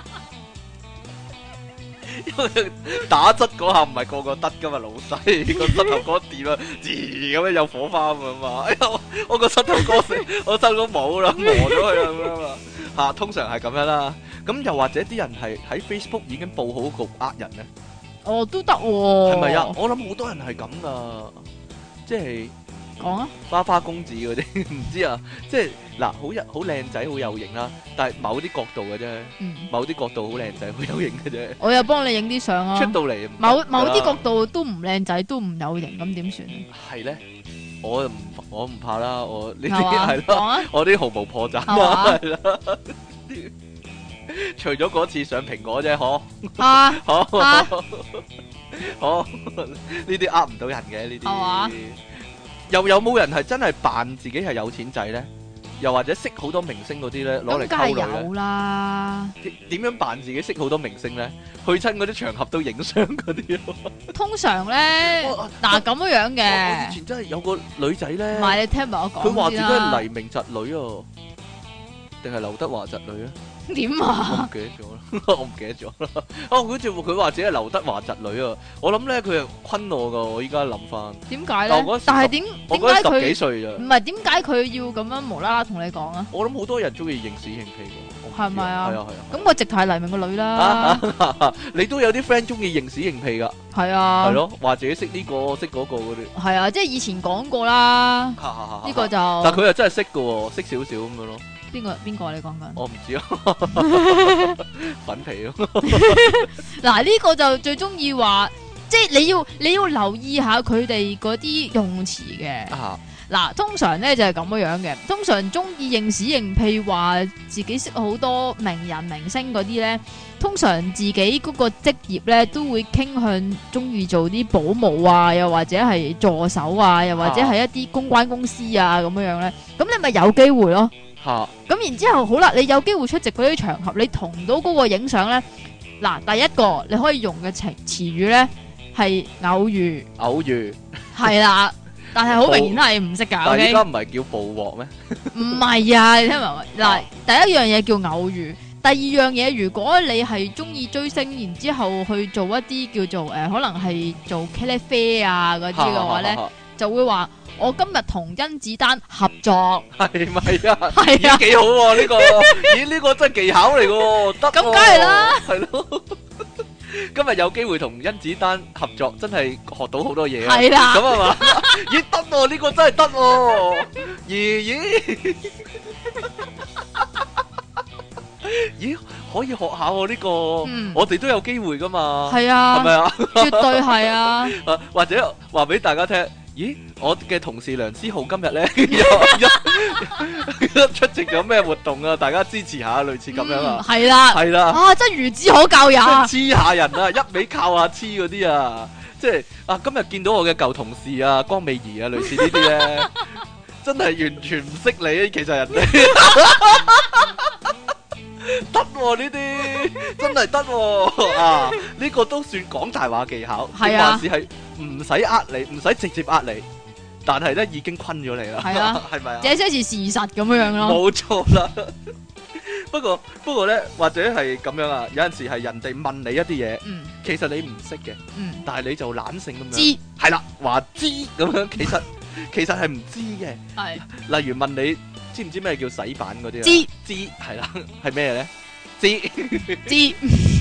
[SPEAKER 1] 因為打側嗰下唔係個個得噶嘛，老細個膝頭哥掂啊，咁樣有火花咁嘛。哎呀，我個膝頭哥我膝頭哥冇啦，磨咗佢啦咁樣嘛。吓，通常係咁樣啦。咁又或者啲人係喺 Facebook 已經報好局呃人咧。哦，都得喎，係咪啊？我諗好多人係咁噶，即係講啊，花花公子嗰啲唔知啊，即係嗱，好靚仔，好有型啦，但係某啲角度嘅啫，某啲角度好靚仔，好有型嘅啫。我又幫你影啲相啊，出到嚟某啲角度都唔靚仔，都唔有型，咁點算？係咧，我唔怕啦，我呢啲係咯，我啲毫無破綻啊，係啦。除咗嗰次上蘋果啫，嗬，呢啲呃唔到人嘅呢啲，又有冇人係真係扮自己係有錢仔咧？又或者識好多明星嗰啲咧，攞嚟溝女咧？有啦。點樣扮自己識好多明星咧？去親嗰啲場合都影相嗰啲咯。通常咧，嗱咁樣嘅。我以前真係有個女仔咧，唔係你聽埋我講，佢話自己係黎明侄女啊，定係劉德華侄女啊？點啊？我唔記得咗啦，我唔記得咗啦。哦，好似佢話自己係劉德華侄女啊！我諗咧佢係昆我噶，我依家諗翻。點解咧？但係點解佢十幾歲咋？唔係點解佢要咁樣無啦啦同你講啊？我諗好多人中意認屎認屁噶。係咪啊？係啊係啊。咁我直頭係黎明個女啦。你都有啲 friend 中意認屎認屁噶？
[SPEAKER 2] 係啊，
[SPEAKER 1] 係咯，話自己識呢個識嗰個嗰啲。
[SPEAKER 2] 係啊，即係以前講過啦，呢個就。
[SPEAKER 1] 但佢又真係識㗎喎，識少少咁樣咯。
[SPEAKER 2] 邊個你講緊？
[SPEAKER 1] 我唔知啊，粉皮咯。
[SPEAKER 2] 嗱，呢個就最中意話，即係你要留意下佢哋嗰啲用詞嘅。嗱，通常咧就係咁樣嘅，通常中意認屎認屁，話自己識好多名人明星嗰啲咧，通常自己嗰個職業咧都會傾向中意做啲保姆啊，又或者係助手啊，又或者係一啲公關公司啊咁樣咧，咁你咪有機會咯。咁然之後好啦，你有機會出席嗰啲場合，你同到嗰個影相咧，嗱，第一個你可以用嘅詞語咧係偶遇，係啦。但係好明顯係唔識噶，
[SPEAKER 1] 但係依家唔係叫捕獲咩？
[SPEAKER 2] 唔係啊，你聽埋嗱，第一樣嘢叫偶遇，第二樣嘢如果你係中意追星，然之後去做一啲叫做可能係做茄喱啡啊嗰啲嘅話咧，就會話我今日同甄子丹合作，
[SPEAKER 1] 係咪啊？係啊，幾好喎呢個，咦呢個真係技巧嚟嘅，得
[SPEAKER 2] 咁梗係啦，
[SPEAKER 1] 係咯。今日有機會同甄子丹合作，真係學到好多嘢啊！
[SPEAKER 2] 係啦，
[SPEAKER 1] 咁係嘛？咦得喎，呢個真係得喎！咦，咦可以學下喎呢個，我哋都有機會噶嘛？係啊，係咪啊？
[SPEAKER 2] 絕對係啊！
[SPEAKER 1] 或者話俾大家聽。咦，我嘅同事梁思浩今日咧出席咗咩活動啊？大家支持下，類似咁樣啊。係啦，係啦。啊，真孺子可教也。黐下人啊，一味靠下黐嗰啲啊，即係啊，今日見到我嘅舊同事啊，江美儀啊，類似呢啲咧，真係完全唔識你，其實人哋得喎呢啲，真係得喎啊！呢個都算講大話技巧，係啊，還是係唔使呃你，唔使直接呃你，但係咧已經昆咗你啦，係啊，係咪啊？這些是事實咁樣咯，冇錯啦。不過咧，或者係咁樣啊，有陣時係人哋問你一啲嘢，其實你唔識嘅，但係你就懶性咁樣，知係啦，話知咁樣，其實係唔知嘅，係，例如問你。知唔知咩叫洗版嗰啲啊？知係啦，係咩咧？知。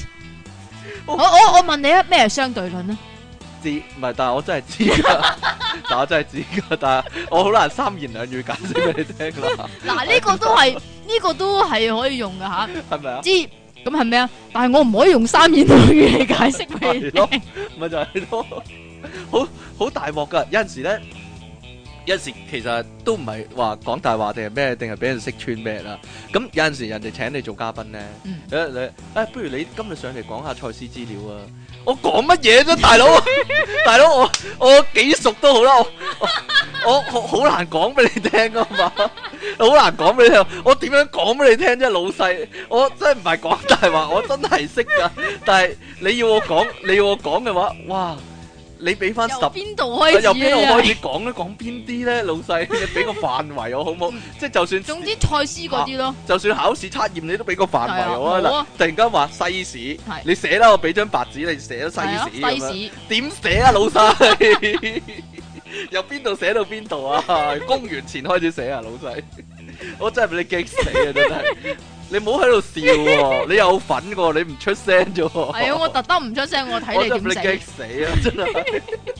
[SPEAKER 1] 我問你啊，咩係相對論啊？知，唔係，但係我真係知噶，但係我好難三言兩語解釋俾你聽啦。嗱，呢個都係可以用噶吓，係咪啊？知，咁係咩啊？但係我唔可以用三言兩語嚟解釋俾你聽。咪就係咯，好大鑊噶，有陣時咧。有陣時其實都唔係話講大話定係咩，定係俾人識穿咩啦。咁有陣時人哋請你做嘉賓咧，不如你今日上嚟講下賽斯資料啊！我講乜嘢啫，大佬？大佬我幾熟都好啦，我好難講俾你聽噶嘛，好難講俾你聽。我點樣講俾你聽啫，老細？我真係唔係講大話，我真係識噶。但係你要我講嘅話，哇！你俾翻由邊度開始？由邊度開始講咧？講邊啲咧？老細，你俾個範圍我好唔好？即係就算總之賽斯嗰啲咯。就算考試測驗，你都俾個範圍我啊！嗱，突然間話西史，你寫啦，我俾張白紙你寫咗西史。西史點寫啊，老細？由邊度寫到邊度啊？公元前開始寫啊，老細。我真係俾你激死啊！真係。你唔好喺度笑喎，你有份喎，你唔出聲啫喎。係啊，我特登唔出聲，我睇你點死。我真係俾你激死啊！真係。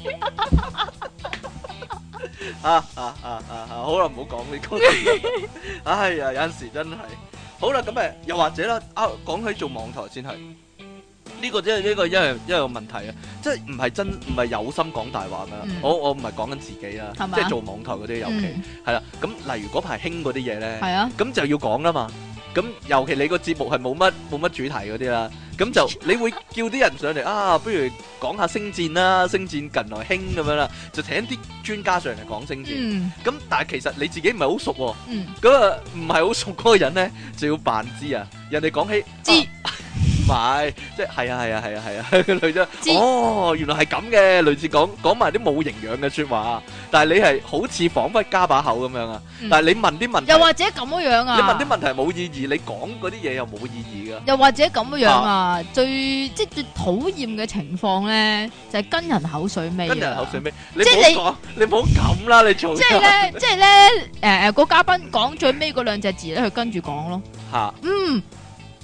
[SPEAKER 1] 好啦，唔好講呢個。哎呀，有陣時真係。好啦，咁又或者啦，講起做網台先係。呢個真係呢個一個問題啊！即係唔係有心講大話㗎。我唔係講緊自己啦，即係做網台嗰啲尤其係啦。咁例如嗰排興嗰啲嘢咧，咁就要講啦嘛。咁尤其你個節目係冇乜主題嗰啲啦，咁就你會叫啲人上嚟啊，不如講下星戰啦，星戰近來興咁樣啦，就請啲專家上嚟講星戰。咁但係其實你自己唔係好熟喎，咁啊唔係好熟嗰個人咧就要扮知啊，人哋講起知。唔係，即係係啊，類似哦，原來係咁嘅，類似講埋啲冇營養嘅説話，但係你係好似彷彿加把口咁樣啊！但係你問啲問題，又或者咁樣啊？你問啲問題冇意義，你講嗰啲嘢又冇意義㗎。又或者咁樣啊？最討厭嘅情況咧，就係跟人口水尾。跟人口水尾，你唔好講，你唔好咁啦，你做。即係咧，個嘉賓講最尾嗰兩隻字咧，佢跟住講咯。嚇，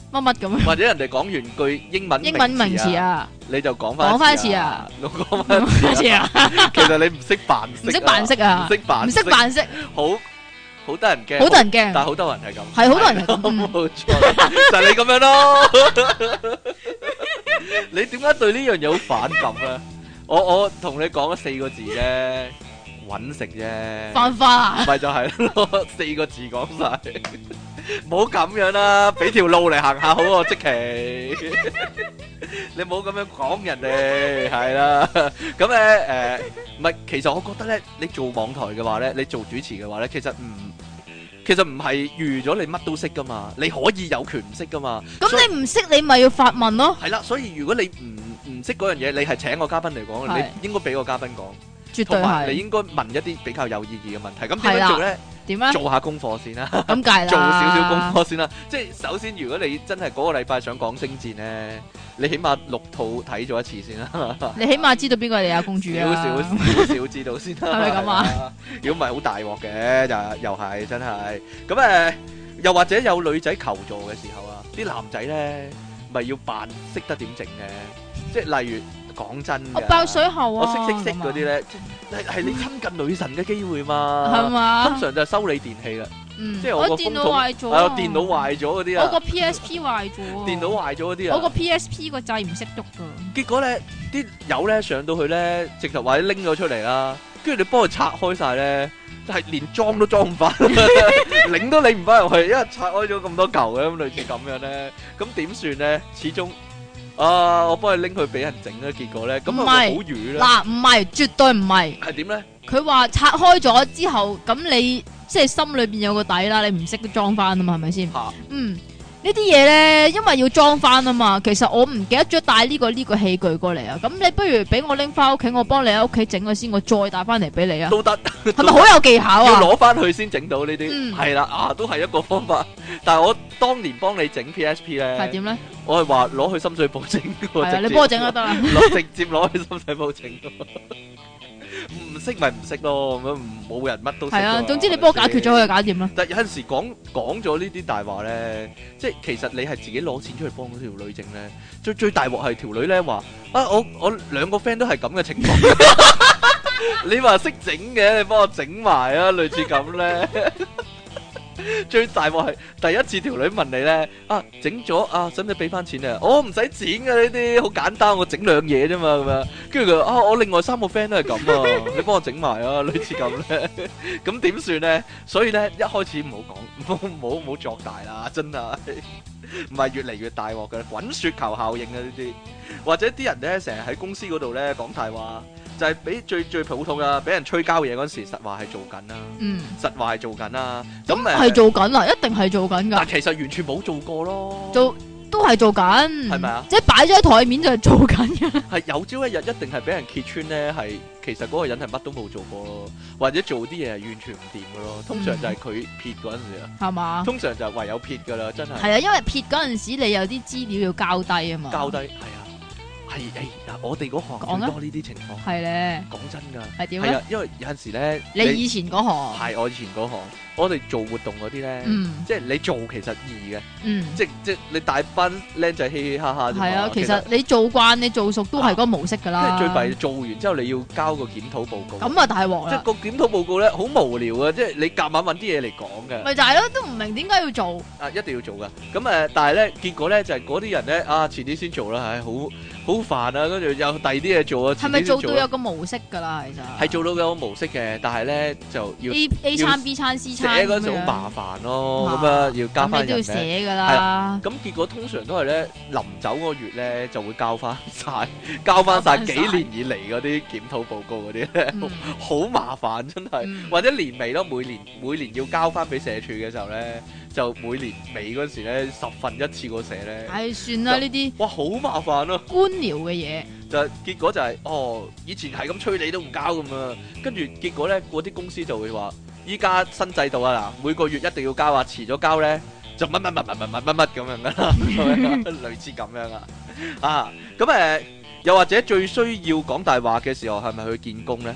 [SPEAKER 2] 乜乜咁樣，
[SPEAKER 1] 或者人哋講完句英文
[SPEAKER 2] 名詞啊，
[SPEAKER 1] 你就講翻一次啊，講翻一次啊，其實你唔識扮識，
[SPEAKER 2] 唔識扮識啊，唔識扮識，
[SPEAKER 1] 好得人驚，
[SPEAKER 2] 好得人驚，
[SPEAKER 1] 但係好多人係咁，
[SPEAKER 2] 係好多人係咁，
[SPEAKER 1] 冇錯，就係你咁樣咯。你點解對呢樣嘢好反感啊？我同你講咗4個字啫，搵食啫，
[SPEAKER 2] 犯法啊？
[SPEAKER 1] 咪就係咯，4個字講晒，唔好咁樣啦，俾條路嚟行下好喎，即其，你唔好咁樣講人哋，係啦，咁咧唔係，其實我覺得咧，你做網台嘅話咧，你做主持嘅話咧，其實唔係預咗你乜都識噶嘛，你可以有權唔識噶嘛。咁你唔識你咪要發問咯。係啦，所以如果你唔識嗰樣嘢，你係請個嘉賓嚟講，你應該俾個嘉賓講。絕對係。你應該問一啲比較有意義嘅問題。咁點樣做咧？點啊？做下功課先啦。咁計啦。做少少功課先啦。即係首先，如果你真係嗰個禮拜想講星戰咧，你起碼6套睇咗一次先啦。你起碼知道邊個係李亞公主啊？少知道先啦。係咪咁啊？如果唔係好大鑊嘅，又係真係。咁又或者有女仔求助嘅時候啊，啲男仔咧咪要扮識得點整嘅，即係例如。講真嘅，我爆水喉啊！我識嗰啲咧，係你親近女神嘅機會嘛？係嘛？通常就係修理電器啦，即係我個電腦壞咗，係啊，電腦壞咗嗰啲啊，我個 PSP 壞咗，電腦壞咗嗰啲啊，我個 PSP 個掣唔識喐噶。結果咧，啲友咧上到去咧，直頭或者拎咗出嚟啦，跟住你幫佢拆開晒咧，係連裝都裝唔翻，擰都擰唔翻入去，因為拆開咗咁多嚿嘅，咁類似咁樣咧，咁點算咧？始終。我幫你拎去俾人整啦，結果咧，咁係咪好瘀咧？嗱，唔係，絕對唔係。係點咧？佢話拆開咗之後，咁你即係心裏邊有個底啦，你唔識都裝翻啊嘛，係咪先？呢啲嘢咧，因為要裝翻啊嘛。其實我唔記得咗帶呢個器具過嚟啊。咁你不如俾我拎翻屋企，我幫你喺屋企整咗先，我再帶翻嚟俾你啊。都得，係咪好有技巧啊？要攞翻去先整到呢啲，係啦，都係一個方法。但係我當年幫你整 PSP 咧，係點咧？我係話攞去深水埗整，係啊，你幫我整就得啦。直接攞去深水埗整，唔識咪唔識咯，咁冇人乜都識。係啊，總之你幫我解決咗佢就搞掂啦。但係有陣時講咗呢啲大話咧，即係其實你係自己攞錢出去幫嗰條女整咧，最大鑊係條女咧話啊，我2個 friend 都係咁嘅情況。你話識整嘅，你幫我整埋啊，類似咁咧。最大鑊係第一次條女問你咧，整咗使唔使俾翻錢啊？我唔使錢噶，呢啲好簡單，我整2嘢啫嘛，咁樣。跟住佢我另外3個 friend 都係咁啊，你幫我整埋啊，類似咁咧。咁點算咧？所以咧一開始唔好講，唔好作大啦，真係唔係越嚟越大鑊噶，滾雪球效應啊呢啲。或者啲人咧成日喺公司嗰度咧講大話。就係俾最普通啊！俾人催交嘢嗰陣時，實話係做緊啦。實話係做緊啦。咁係做緊啦，一定係做緊㗎。但其實完全冇做過咯。都係做緊。係咪啊？即係擺咗喺台面就係做緊嘅。係有朝一日一定係俾人揭穿咧，係其實嗰個人係乜都冇做過咯，或者做啲嘢係完全唔掂嘅咯。通常就係佢撇嗰陣時啊。係嘛？通常就唯有撇㗎啦，真係。係啊，因為撇嗰陣時你有啲資料要交低啊嘛。交低係啊。係我哋嗰行最多呢啲情況。係咧，講真噶。係點咧？係啊，因為有陣時咧，你以前嗰行係我以前嗰行，我哋做活動嗰啲咧，即係你做其實易嘅，即係你帶班僆仔嘻嘻哈哈。係啊，其實你做慣你做熟都係嗰個模式噶啦。即係最弊做完之後你要交個檢討報告。咁啊大鑊啦！即係個檢討報告咧好無聊啊，即係你夾硬揾啲嘢嚟講嘅。咪就係咯，都唔明點解要做。一定要做噶。咁但係咧結果咧就係嗰啲人咧遲啲先做啦，唉好煩啊！跟住有第二啲嘢做啊，係咪做到有個模式㗎啦？其實係做到有個模式嘅，但係咧就要 A 餐 B 餐 C 餐寫嗰陣好麻煩咯，咁啊要交翻人咧。咁你都要寫㗎啦。咁結果通常都係咧臨走嗰個月咧就會交翻晒幾年以嚟嗰啲檢討報告嗰啲咧，好麻煩真係。或者年尾咯，每年要交翻俾社署嘅時候咧，就每年尾嗰時咧10份一次過寫咧。唉，算啦呢啲。哇，好麻煩咯。官僚嘅嘢就結果就係以前係咁催你都唔交咁啊，跟住結果咧嗰啲公司就會話依家新制度啊嗱，每個月一定要交啊，遲咗交咧就乜咁樣噶啦，類似咁樣啊咁又或者最需要講大話嘅時候係咪去見工咧？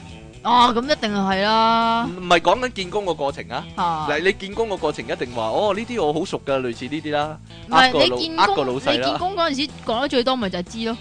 [SPEAKER 2] 咁一定係啦。
[SPEAKER 1] 唔係講緊見工個過程啊。嗱，你見工個過程一定話呢啲我好熟噶，類似呢啲啦。
[SPEAKER 2] 唔係你見工，
[SPEAKER 1] 個老細啦。
[SPEAKER 2] 你見工嗰陣時講得最多咪就係知咯。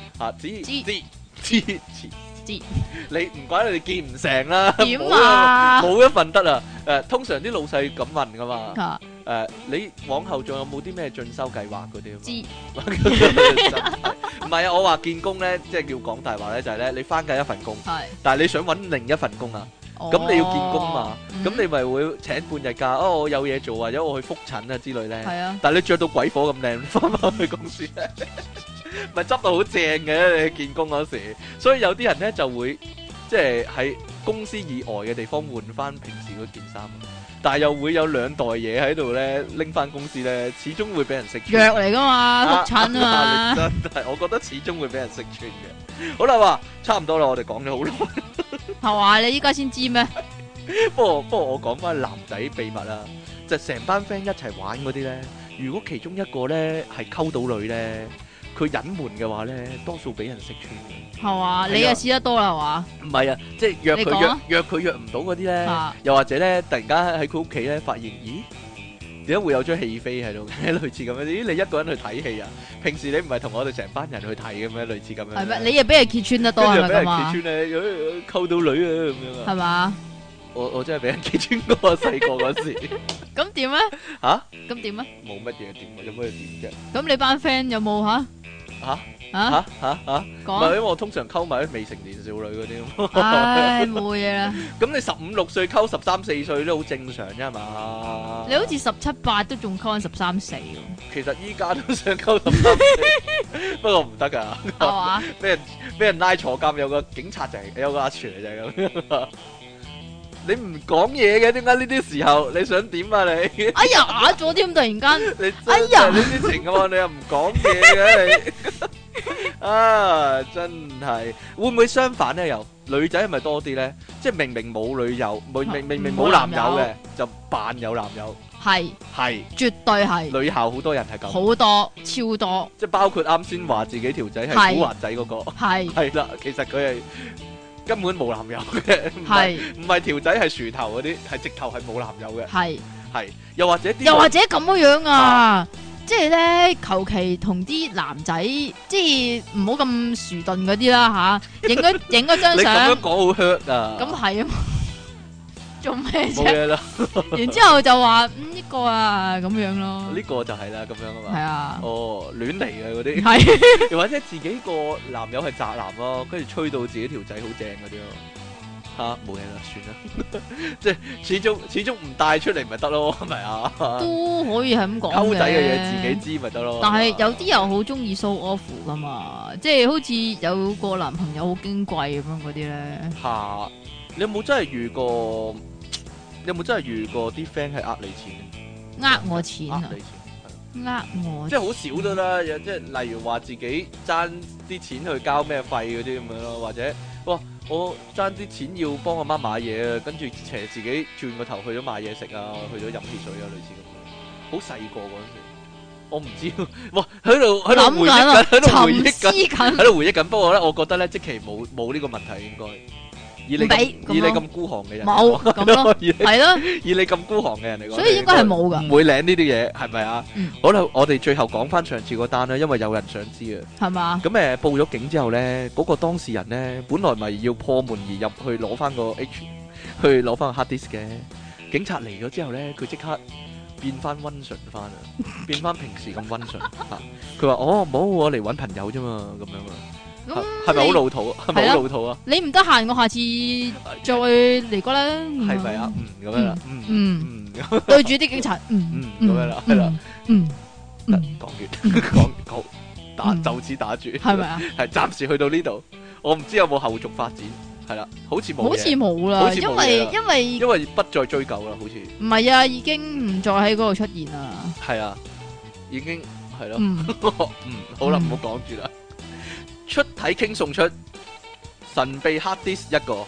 [SPEAKER 2] 知，
[SPEAKER 1] 你唔怪你見唔成啦。
[SPEAKER 2] 點啊？
[SPEAKER 1] 冇一份得啊！通常啲老細咁問噶嘛。你往後仲有冇啲咩進修計劃嗰啲？
[SPEAKER 2] 知。
[SPEAKER 1] 唔係啊，我話見工咧，即係叫講大話咧，就係咧，你翻緊一份工，但係你想揾另一份工啊，咁你要見工嘛，咁你咪會請半日假，我有嘢做，或者我去復診啊之類咧。係啊。但係你着到鬼火咁靚，翻返去公司咧，咪執到好正嘅，你見工嗰時。所以有啲人咧就會即係喺公司以外嘅地方換翻平時嗰件衫。但係又會有兩袋嘢喺度咧，拎翻公司咧，始終會俾人識穿。藥嚟噶嘛，復診啊嘛。真係，我覺得始終會俾人識穿嘅。好啦，話差唔多啦，我哋講咗好耐。
[SPEAKER 2] 係話你依家先知咩？
[SPEAKER 1] 不過我講翻男仔秘密啦，就成班 friend 一齊玩嗰啲咧，如果其中一個咧係溝到女咧，佢隱瞞嘅話咧，多數俾人識穿嘅。係嘛？
[SPEAKER 2] 你又試得多啦，係嘛？
[SPEAKER 1] 唔係啊，即係約佢約唔到嗰啲咧，又或者咧突然間喺佢屋企咧發現，咦？點解會有張戲飛喺度嘅？類似咁樣，咦？你一個人去睇戲啊？平時你唔係同我哋成班人去睇嘅咩？類似咁樣。係咩？
[SPEAKER 2] 你又俾人揭穿得多係咪咁啊？俾人
[SPEAKER 1] 揭穿咧，溝到女啊咁樣啊？
[SPEAKER 2] 係嘛？
[SPEAKER 1] 我真係俾人揭穿過啊！細個嗰時。
[SPEAKER 2] 咁點咧？
[SPEAKER 1] 吓？
[SPEAKER 2] 咁點啊？
[SPEAKER 1] 冇乜嘢點，有乜嘢點啫？
[SPEAKER 2] 咁你班 friend 有冇吓？唔
[SPEAKER 1] 係因為我通常溝埋啲未成年少女嗰啲。
[SPEAKER 2] 唉，冇嘢啦。咁
[SPEAKER 1] 你15、16歲溝13、14歲都好正常啫係嘛？
[SPEAKER 2] 你好似17、18都仲溝緊13、14。其
[SPEAKER 1] 實依家都想溝13、14，不過唔得噶。係嘛？俾人拉坐監，有個警察就係有個阿 Sir 就係咁。你唔講嘢嘅，點解呢啲時候你想點啊你？
[SPEAKER 2] 哎呀，啞咗添，突然間。
[SPEAKER 1] 你哎呀，呢啲情況你又唔講嘢嘅你。啊，真係會唔會相反咧？又女仔係咪多啲咧？即係明明冇女友，明明冇男友嘅，就扮有男友。係絕對係。女校好多人係咁。好多，超多。即係包括啱先話自己條仔係古惑仔嗰個。係啦，其實佢係根本冇男友嘅。唔係條仔係樹頭嗰啲，係直頭係冇男友嘅。係又或者咁樣啊？即係咧，求其同啲男仔，即係唔好咁薯鈍嗰啲啦吓，影嗰張相。你咁樣講好 hurt 啊！咁係啊，做咩啫？冇嘢啦。然之後就話呢個啊咁樣咯。呢個就係啦，咁樣啊嘛。係啊。哦，亂嚟嘅嗰啲。係。又或者自己個男友係宅男咯，跟住吹到自己條仔好正嗰啲咯。吓，冇嘢啦，算啦，即係始終唔帶出嚟咪得咯，係咪啊？都可以係咁講嘅。溝仔嘅嘢自己知咪得咯。但係有啲人好中意 show off 噶嘛，即係好似有個男朋友好矜貴咁樣嗰啲咧。吓，你有冇真係遇過？啲 friend 係呃你錢？呃我錢啊？呃我？即係好少得啦，即係例如話自己爭啲錢去交咩費嗰啲咁樣咯，或者哇。我爭啲錢要幫阿媽買嘢啊，跟住邪自己轉個頭去咗買嘢食啊，去咗飲汽水啊，類似咁樣。好細個嗰陣時，我唔知，哇，喺度回憶緊，喺度回憶緊。不過咧，我覺得咧，即期冇呢個問題應該。以你咁孤寒嘅人，冇咁咯，係咯，以你咁孤寒嘅人嚟講，所以應該係冇噶，唔會領呢啲嘢，係咪啊？好啦，我哋最後講翻上次嗰單啦，因為有人想知啊，係嘛？咁報咗警之後咧，嗰個當事人咧，本來咪要破門而入去攞翻個 去攞翻個 hard disk 嘅，警察嚟咗之後咧，佢即刻變翻溫順翻啊，變翻平時咁溫順吓，佢話冇，我嚟搵朋友啫嘛，咁樣啊。係咪好老土？係咪好老土啊？你唔得閒，我下次再嚟過啦。係咪啊？咁樣啦。對住啲警察。咁樣啦，係啦。講完，就此打住。係咪啊？係暫時去到呢度，我唔知有冇後續發展。係啦，好似冇。好似冇啦，因為不再追究啦，好似。唔係啊，已經唔再喺嗰度出現啦。係啊，已經係咯。好啦，唔好講住啦。出體傾送出神秘 hard disk 一個，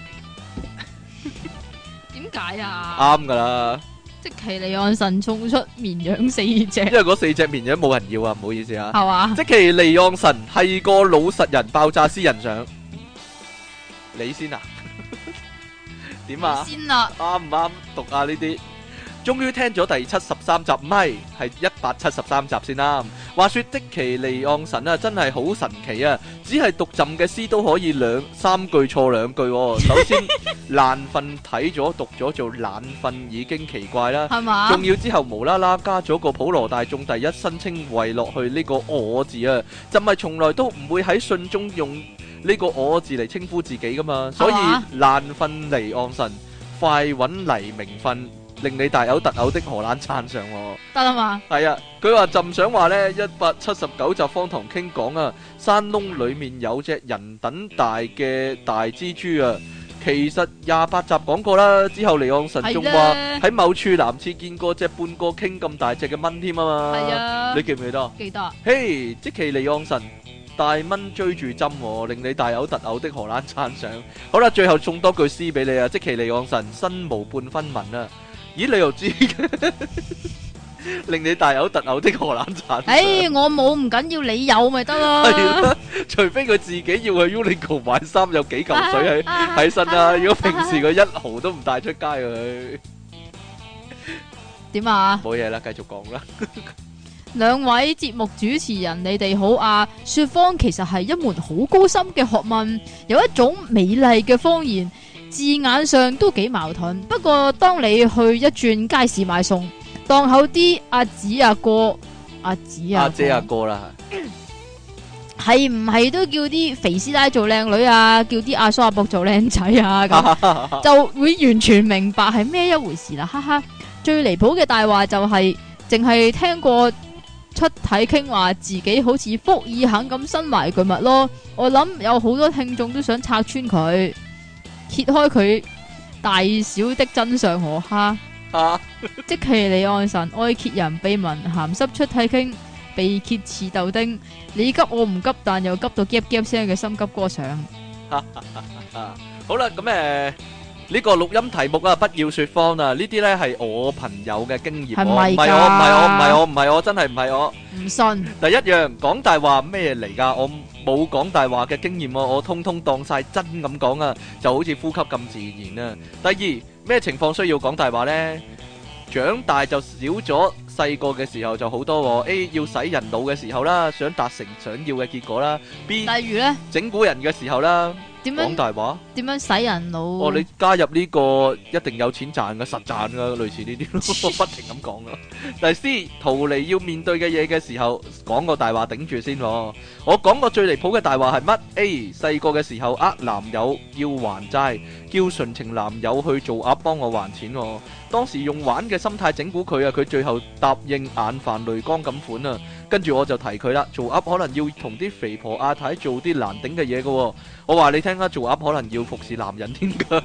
[SPEAKER 1] 點解啊？啱噶啦，積淇離岸神送出綿羊4隻，因為嗰4隻綿羊冇人要啊，唔好意思啊，係嘛？積淇離岸神係個老實人，爆炸私人相，你先啊？ 點啊？
[SPEAKER 2] 先啦，
[SPEAKER 1] 啱唔啱讀啊？呢啲終於聽咗第73集，唔係173集先啦。話說積淇離岸神啊，真係好神奇啊！只係讀朕嘅詩都可以三句錯兩句喎。首先爛瞓睇咗讀咗做懶瞓已經奇怪啦，
[SPEAKER 2] 係嘛？
[SPEAKER 1] 仲要之後無啦啦加咗個普羅大眾第一身稱謂落去呢個我字啊，朕係從來都唔會喺信中用呢個我字嚟稱呼自己噶嘛，所以爛瞓離岸神，快揾黎明瞓。令你大嘔特嘔的荷蘭撐上喎，
[SPEAKER 2] 得啦嘛？
[SPEAKER 1] 係啊，佢話朕想話呢179集方唐傾講啊，山窿裡面有隻人等大嘅大蜘蛛啊，其實28集講過啦，之後離岸神仲話喺某處男廁見過隻半個傾咁大隻嘅蚊添啊嘛，
[SPEAKER 2] 係啊，
[SPEAKER 1] 你記唔記得？
[SPEAKER 2] 記得。
[SPEAKER 1] 嘿，積淇離岸神。大蚊追住針喎，令你大嘔特嘔的荷蘭撐上。好啦，最後送多句詩俾你啊，積淇離岸神身無半分文啊。咦，你又知嘅？令你大嘔特嘔的荷蘭撐上。
[SPEAKER 2] 我冇唔緊要，你有咪得咯。
[SPEAKER 1] 係啦，除非佢自己要去 Uniqlo 買衫，有幾嚿水喺身啊。如果平時佢1毫都唔帶出街佢。
[SPEAKER 2] 點啊？
[SPEAKER 1] 冇嘢啦，繼續講啦。
[SPEAKER 2] 兩位節目主持人，你哋好啊！說謊其實係一門好高深嘅學問，有一種美麗嘅謊言，字眼上都幾矛盾。不過當你去一轉街市買餸，檔口啲阿子阿哥、阿姐阿哥啦，係唔係都叫啲肥師奶做靚女啊？叫啲阿叔阿伯做靚仔啊？咁就會完全明白係咩一回事啦！哈哈，最離譜嘅大話就係淨係聽過出體傾話自己好似福爾肯咁身懷巨物咯，我諗有好多聽眾都想拆穿佢，揭開佢大小的真相可哈。積淇離岸神愛揭人秘聞，鹹濕出體傾被揭似豆丁，你急我唔急，但又急到夾夾聲嘅心急歌上。
[SPEAKER 1] 好啦，咁呢個錄音題目啊，不要說謊啊！呢啲呢係我朋友嘅經驗，唔係我，真係唔係我。
[SPEAKER 2] 唔信。
[SPEAKER 1] 第一樣講大話咩嚟㗎？我冇講大話嘅經驗喎，我通通當晒真咁講啊，就好似呼吸咁自然啊。第二，咩情況需要講大話呢？長大就少咗，細個嘅時候就好多喎。A 要洗人腦嘅時候啦，想達成想要嘅結果啦。B
[SPEAKER 2] 例如呢，
[SPEAKER 1] 整蠱人嘅時候啦。
[SPEAKER 2] 點樣
[SPEAKER 1] 講大話？
[SPEAKER 2] 點樣洗人腦？
[SPEAKER 1] 哦，你加入呢個一定有錢賺嘅，實賺嘅，類似呢啲咯，不停咁講咯。第 C 逃離要面對嘅嘢嘅時候，講個大話頂住先。我講過最離譜嘅大話係乜 ？A 細個嘅時候男友要還債，叫純情男友去做鴨幫我還錢。當時用玩嘅心態整蠱佢啊，佢最後答應眼泛淚光咁款啊。跟住我就提佢啦，做鴨可能要同啲肥婆阿太做啲難頂嘅嘢嘅。我話你聽啦，做鴨可能要服侍男人添噶。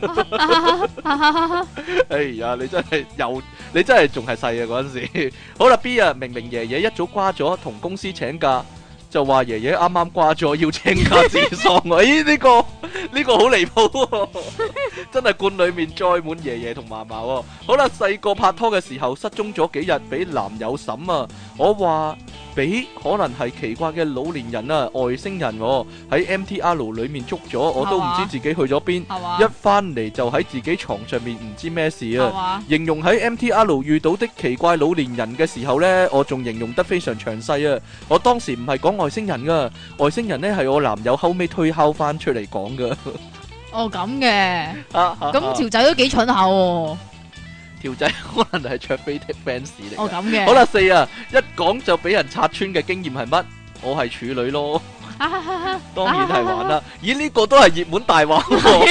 [SPEAKER 1] 哎呀，你真係仲係細啊嗰陣時。好啦 B 啊，明明爺爺一早瓜咗，同公司請假，就話爺爺啱啱瓜咗要請假治喪。咦，呢個好離譜，真係罐裏面載滿爺爺同嫲嫲。好啦，細個拍拖嘅時候失蹤咗幾日，俾男友審啊。我話俾可能係奇怪嘅老年人啊，外星人喺 MTR 裏面捉咗，我都唔知自己去咗邊。一翻嚟就喺自己床上面，唔知咩事啊。形容喺 MTR 遇到的奇怪老年人嘅時候呢，我仲形容得非常詳細啊。我當時唔係講外星人噶，外星人呢係我男友後尾推敲翻出嚟講噶。
[SPEAKER 2] 哦，咁嘅，咁條仔都幾蠢下喎。
[SPEAKER 1] 條仔可能係卓飛的 fans 嚟。
[SPEAKER 2] 哦，咁嘅。
[SPEAKER 1] 好啦，4啊，一講就俾人拆穿嘅經驗係乜？我係處女咯。當然係玩啦。咦，呢個都係熱門大話。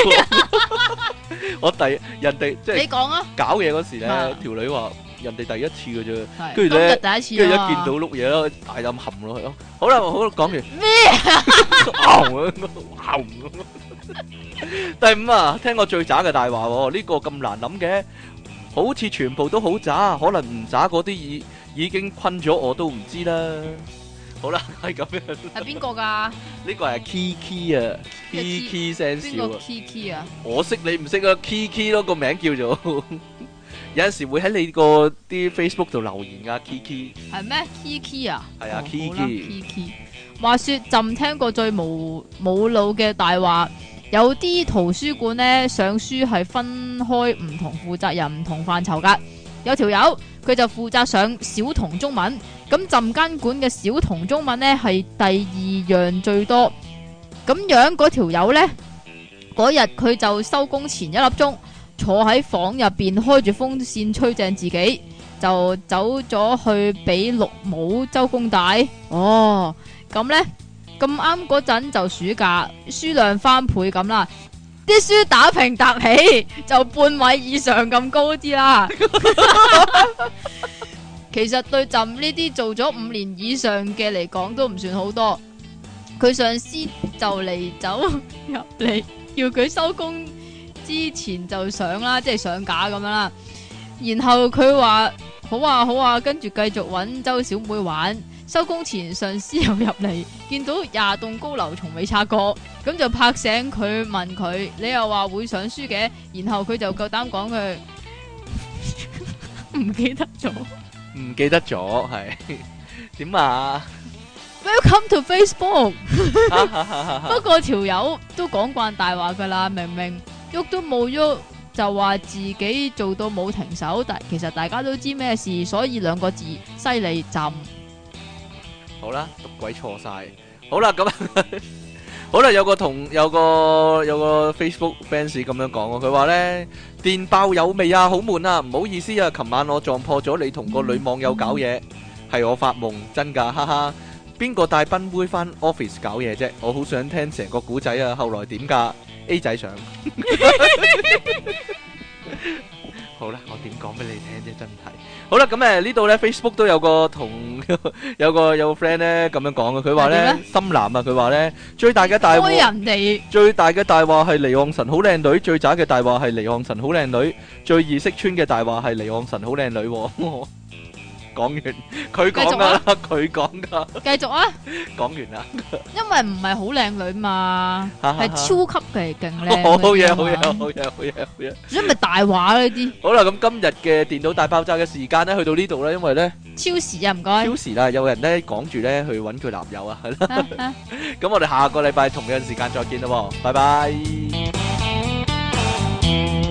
[SPEAKER 1] 人哋即係你講啊，搞嘢嗰時咧，條女話人哋第一次嘅啫，跟住咧，跟住一見到碌嘢咯，大啖含落去咯。好啦，好講完咩？第5啊，聽過最渣嘅大話喎，呢個咁難諗嘅。好似全部都好渣，可能唔渣嗰啲已經困咗我都唔知啦。好啦，係咁樣。係邊個噶？呢個係 Kiki 啊 ，Kiki 聲笑啊。邊個 Kiki 啊？我識你唔識啊 ？Kiki 咯，個名叫做。有陣時會喺你個啲 Facebook 度留言噶 Kiki。係咩 Kiki 啊？係啊 Kiki。話說朕聽過最冇腦嘅大話。
[SPEAKER 2] 有啲圖書館呢，上書係分開唔同負責人、唔同範疇噶。有條友佢就負責上小童中文，咁浸間館嘅小童中文呢係第2樣最多。咁樣嗰條友呢，嗰日佢就收工前1粒鐘坐喺房入邊開住風扇吹正自己，就走咗去俾綠帽周公帶。哦，咁呢，咁啱嗰陣就暑假，書量翻倍咁啦。啲書打平搭起就半米以上咁高啲啦。其實對朕呢啲做咗5年以上嘅嚟講都唔算好多。佢上司就嚟走入嚟，叫佢收工之前就上啦，即係上架咁樣啦。然後佢話好啊好啊，跟住繼續揾周小妹玩。收工前上司又入嚟，見到20棟高樓從未拆過，咁就拍醒佢問佢：你又話會上書嘅？然後佢就夠膽講佢唔記得咗，
[SPEAKER 1] 唔記得咗係點啊
[SPEAKER 2] ？Welcome to Facebook 。不過條友都講慣大話噶啦，明明喐都冇喐，就話自己做到冇停手，但其實大家都知咩事，所以2個字：犀利朕。
[SPEAKER 1] 好啦，讀鬼錯晒。好啦，咁好啦，有個 Facebook fans 咁樣講喎，佢話呢電爆有味啊，好悶啊，唔好意思啊，琴晚我撞破咗你同個女網友搞嘢，係我發夢，真㗎，哈哈。邊個帶賓妹返 office 搞嘢啫？我好想聽成個古仔啊，後來點㗎 ？A 仔上。好啦，我點講俾你聽啫，真係。好啦，咁呢度咧 Facebook 都有個有個 friend 咧咁樣講嘅，佢話咧深藍啊，佢話咧最大嘅大話係離岸神好靚女，最渣嘅大話係離岸神好靚女，最易識穿嘅大話係離岸神好靚女。講完，佢講噶啦，佢講噶。
[SPEAKER 2] 繼續啊！
[SPEAKER 1] 講完啦。
[SPEAKER 2] 因為唔係好靚女嘛，係超級嘅勁靚。
[SPEAKER 1] 好嘢，好嘢，好嘢，好嘢，好嘢。所
[SPEAKER 2] 以咪大話呢啲。
[SPEAKER 1] 好啦，咁今日嘅電腦大爆炸嘅時間咧，去到呢度啦，因為咧
[SPEAKER 2] 超時啊，唔該。超
[SPEAKER 1] 時啦，有人咧講住咧去搵佢男友啊，係啦。咁我哋下個禮拜同樣時間再見啦，拜拜。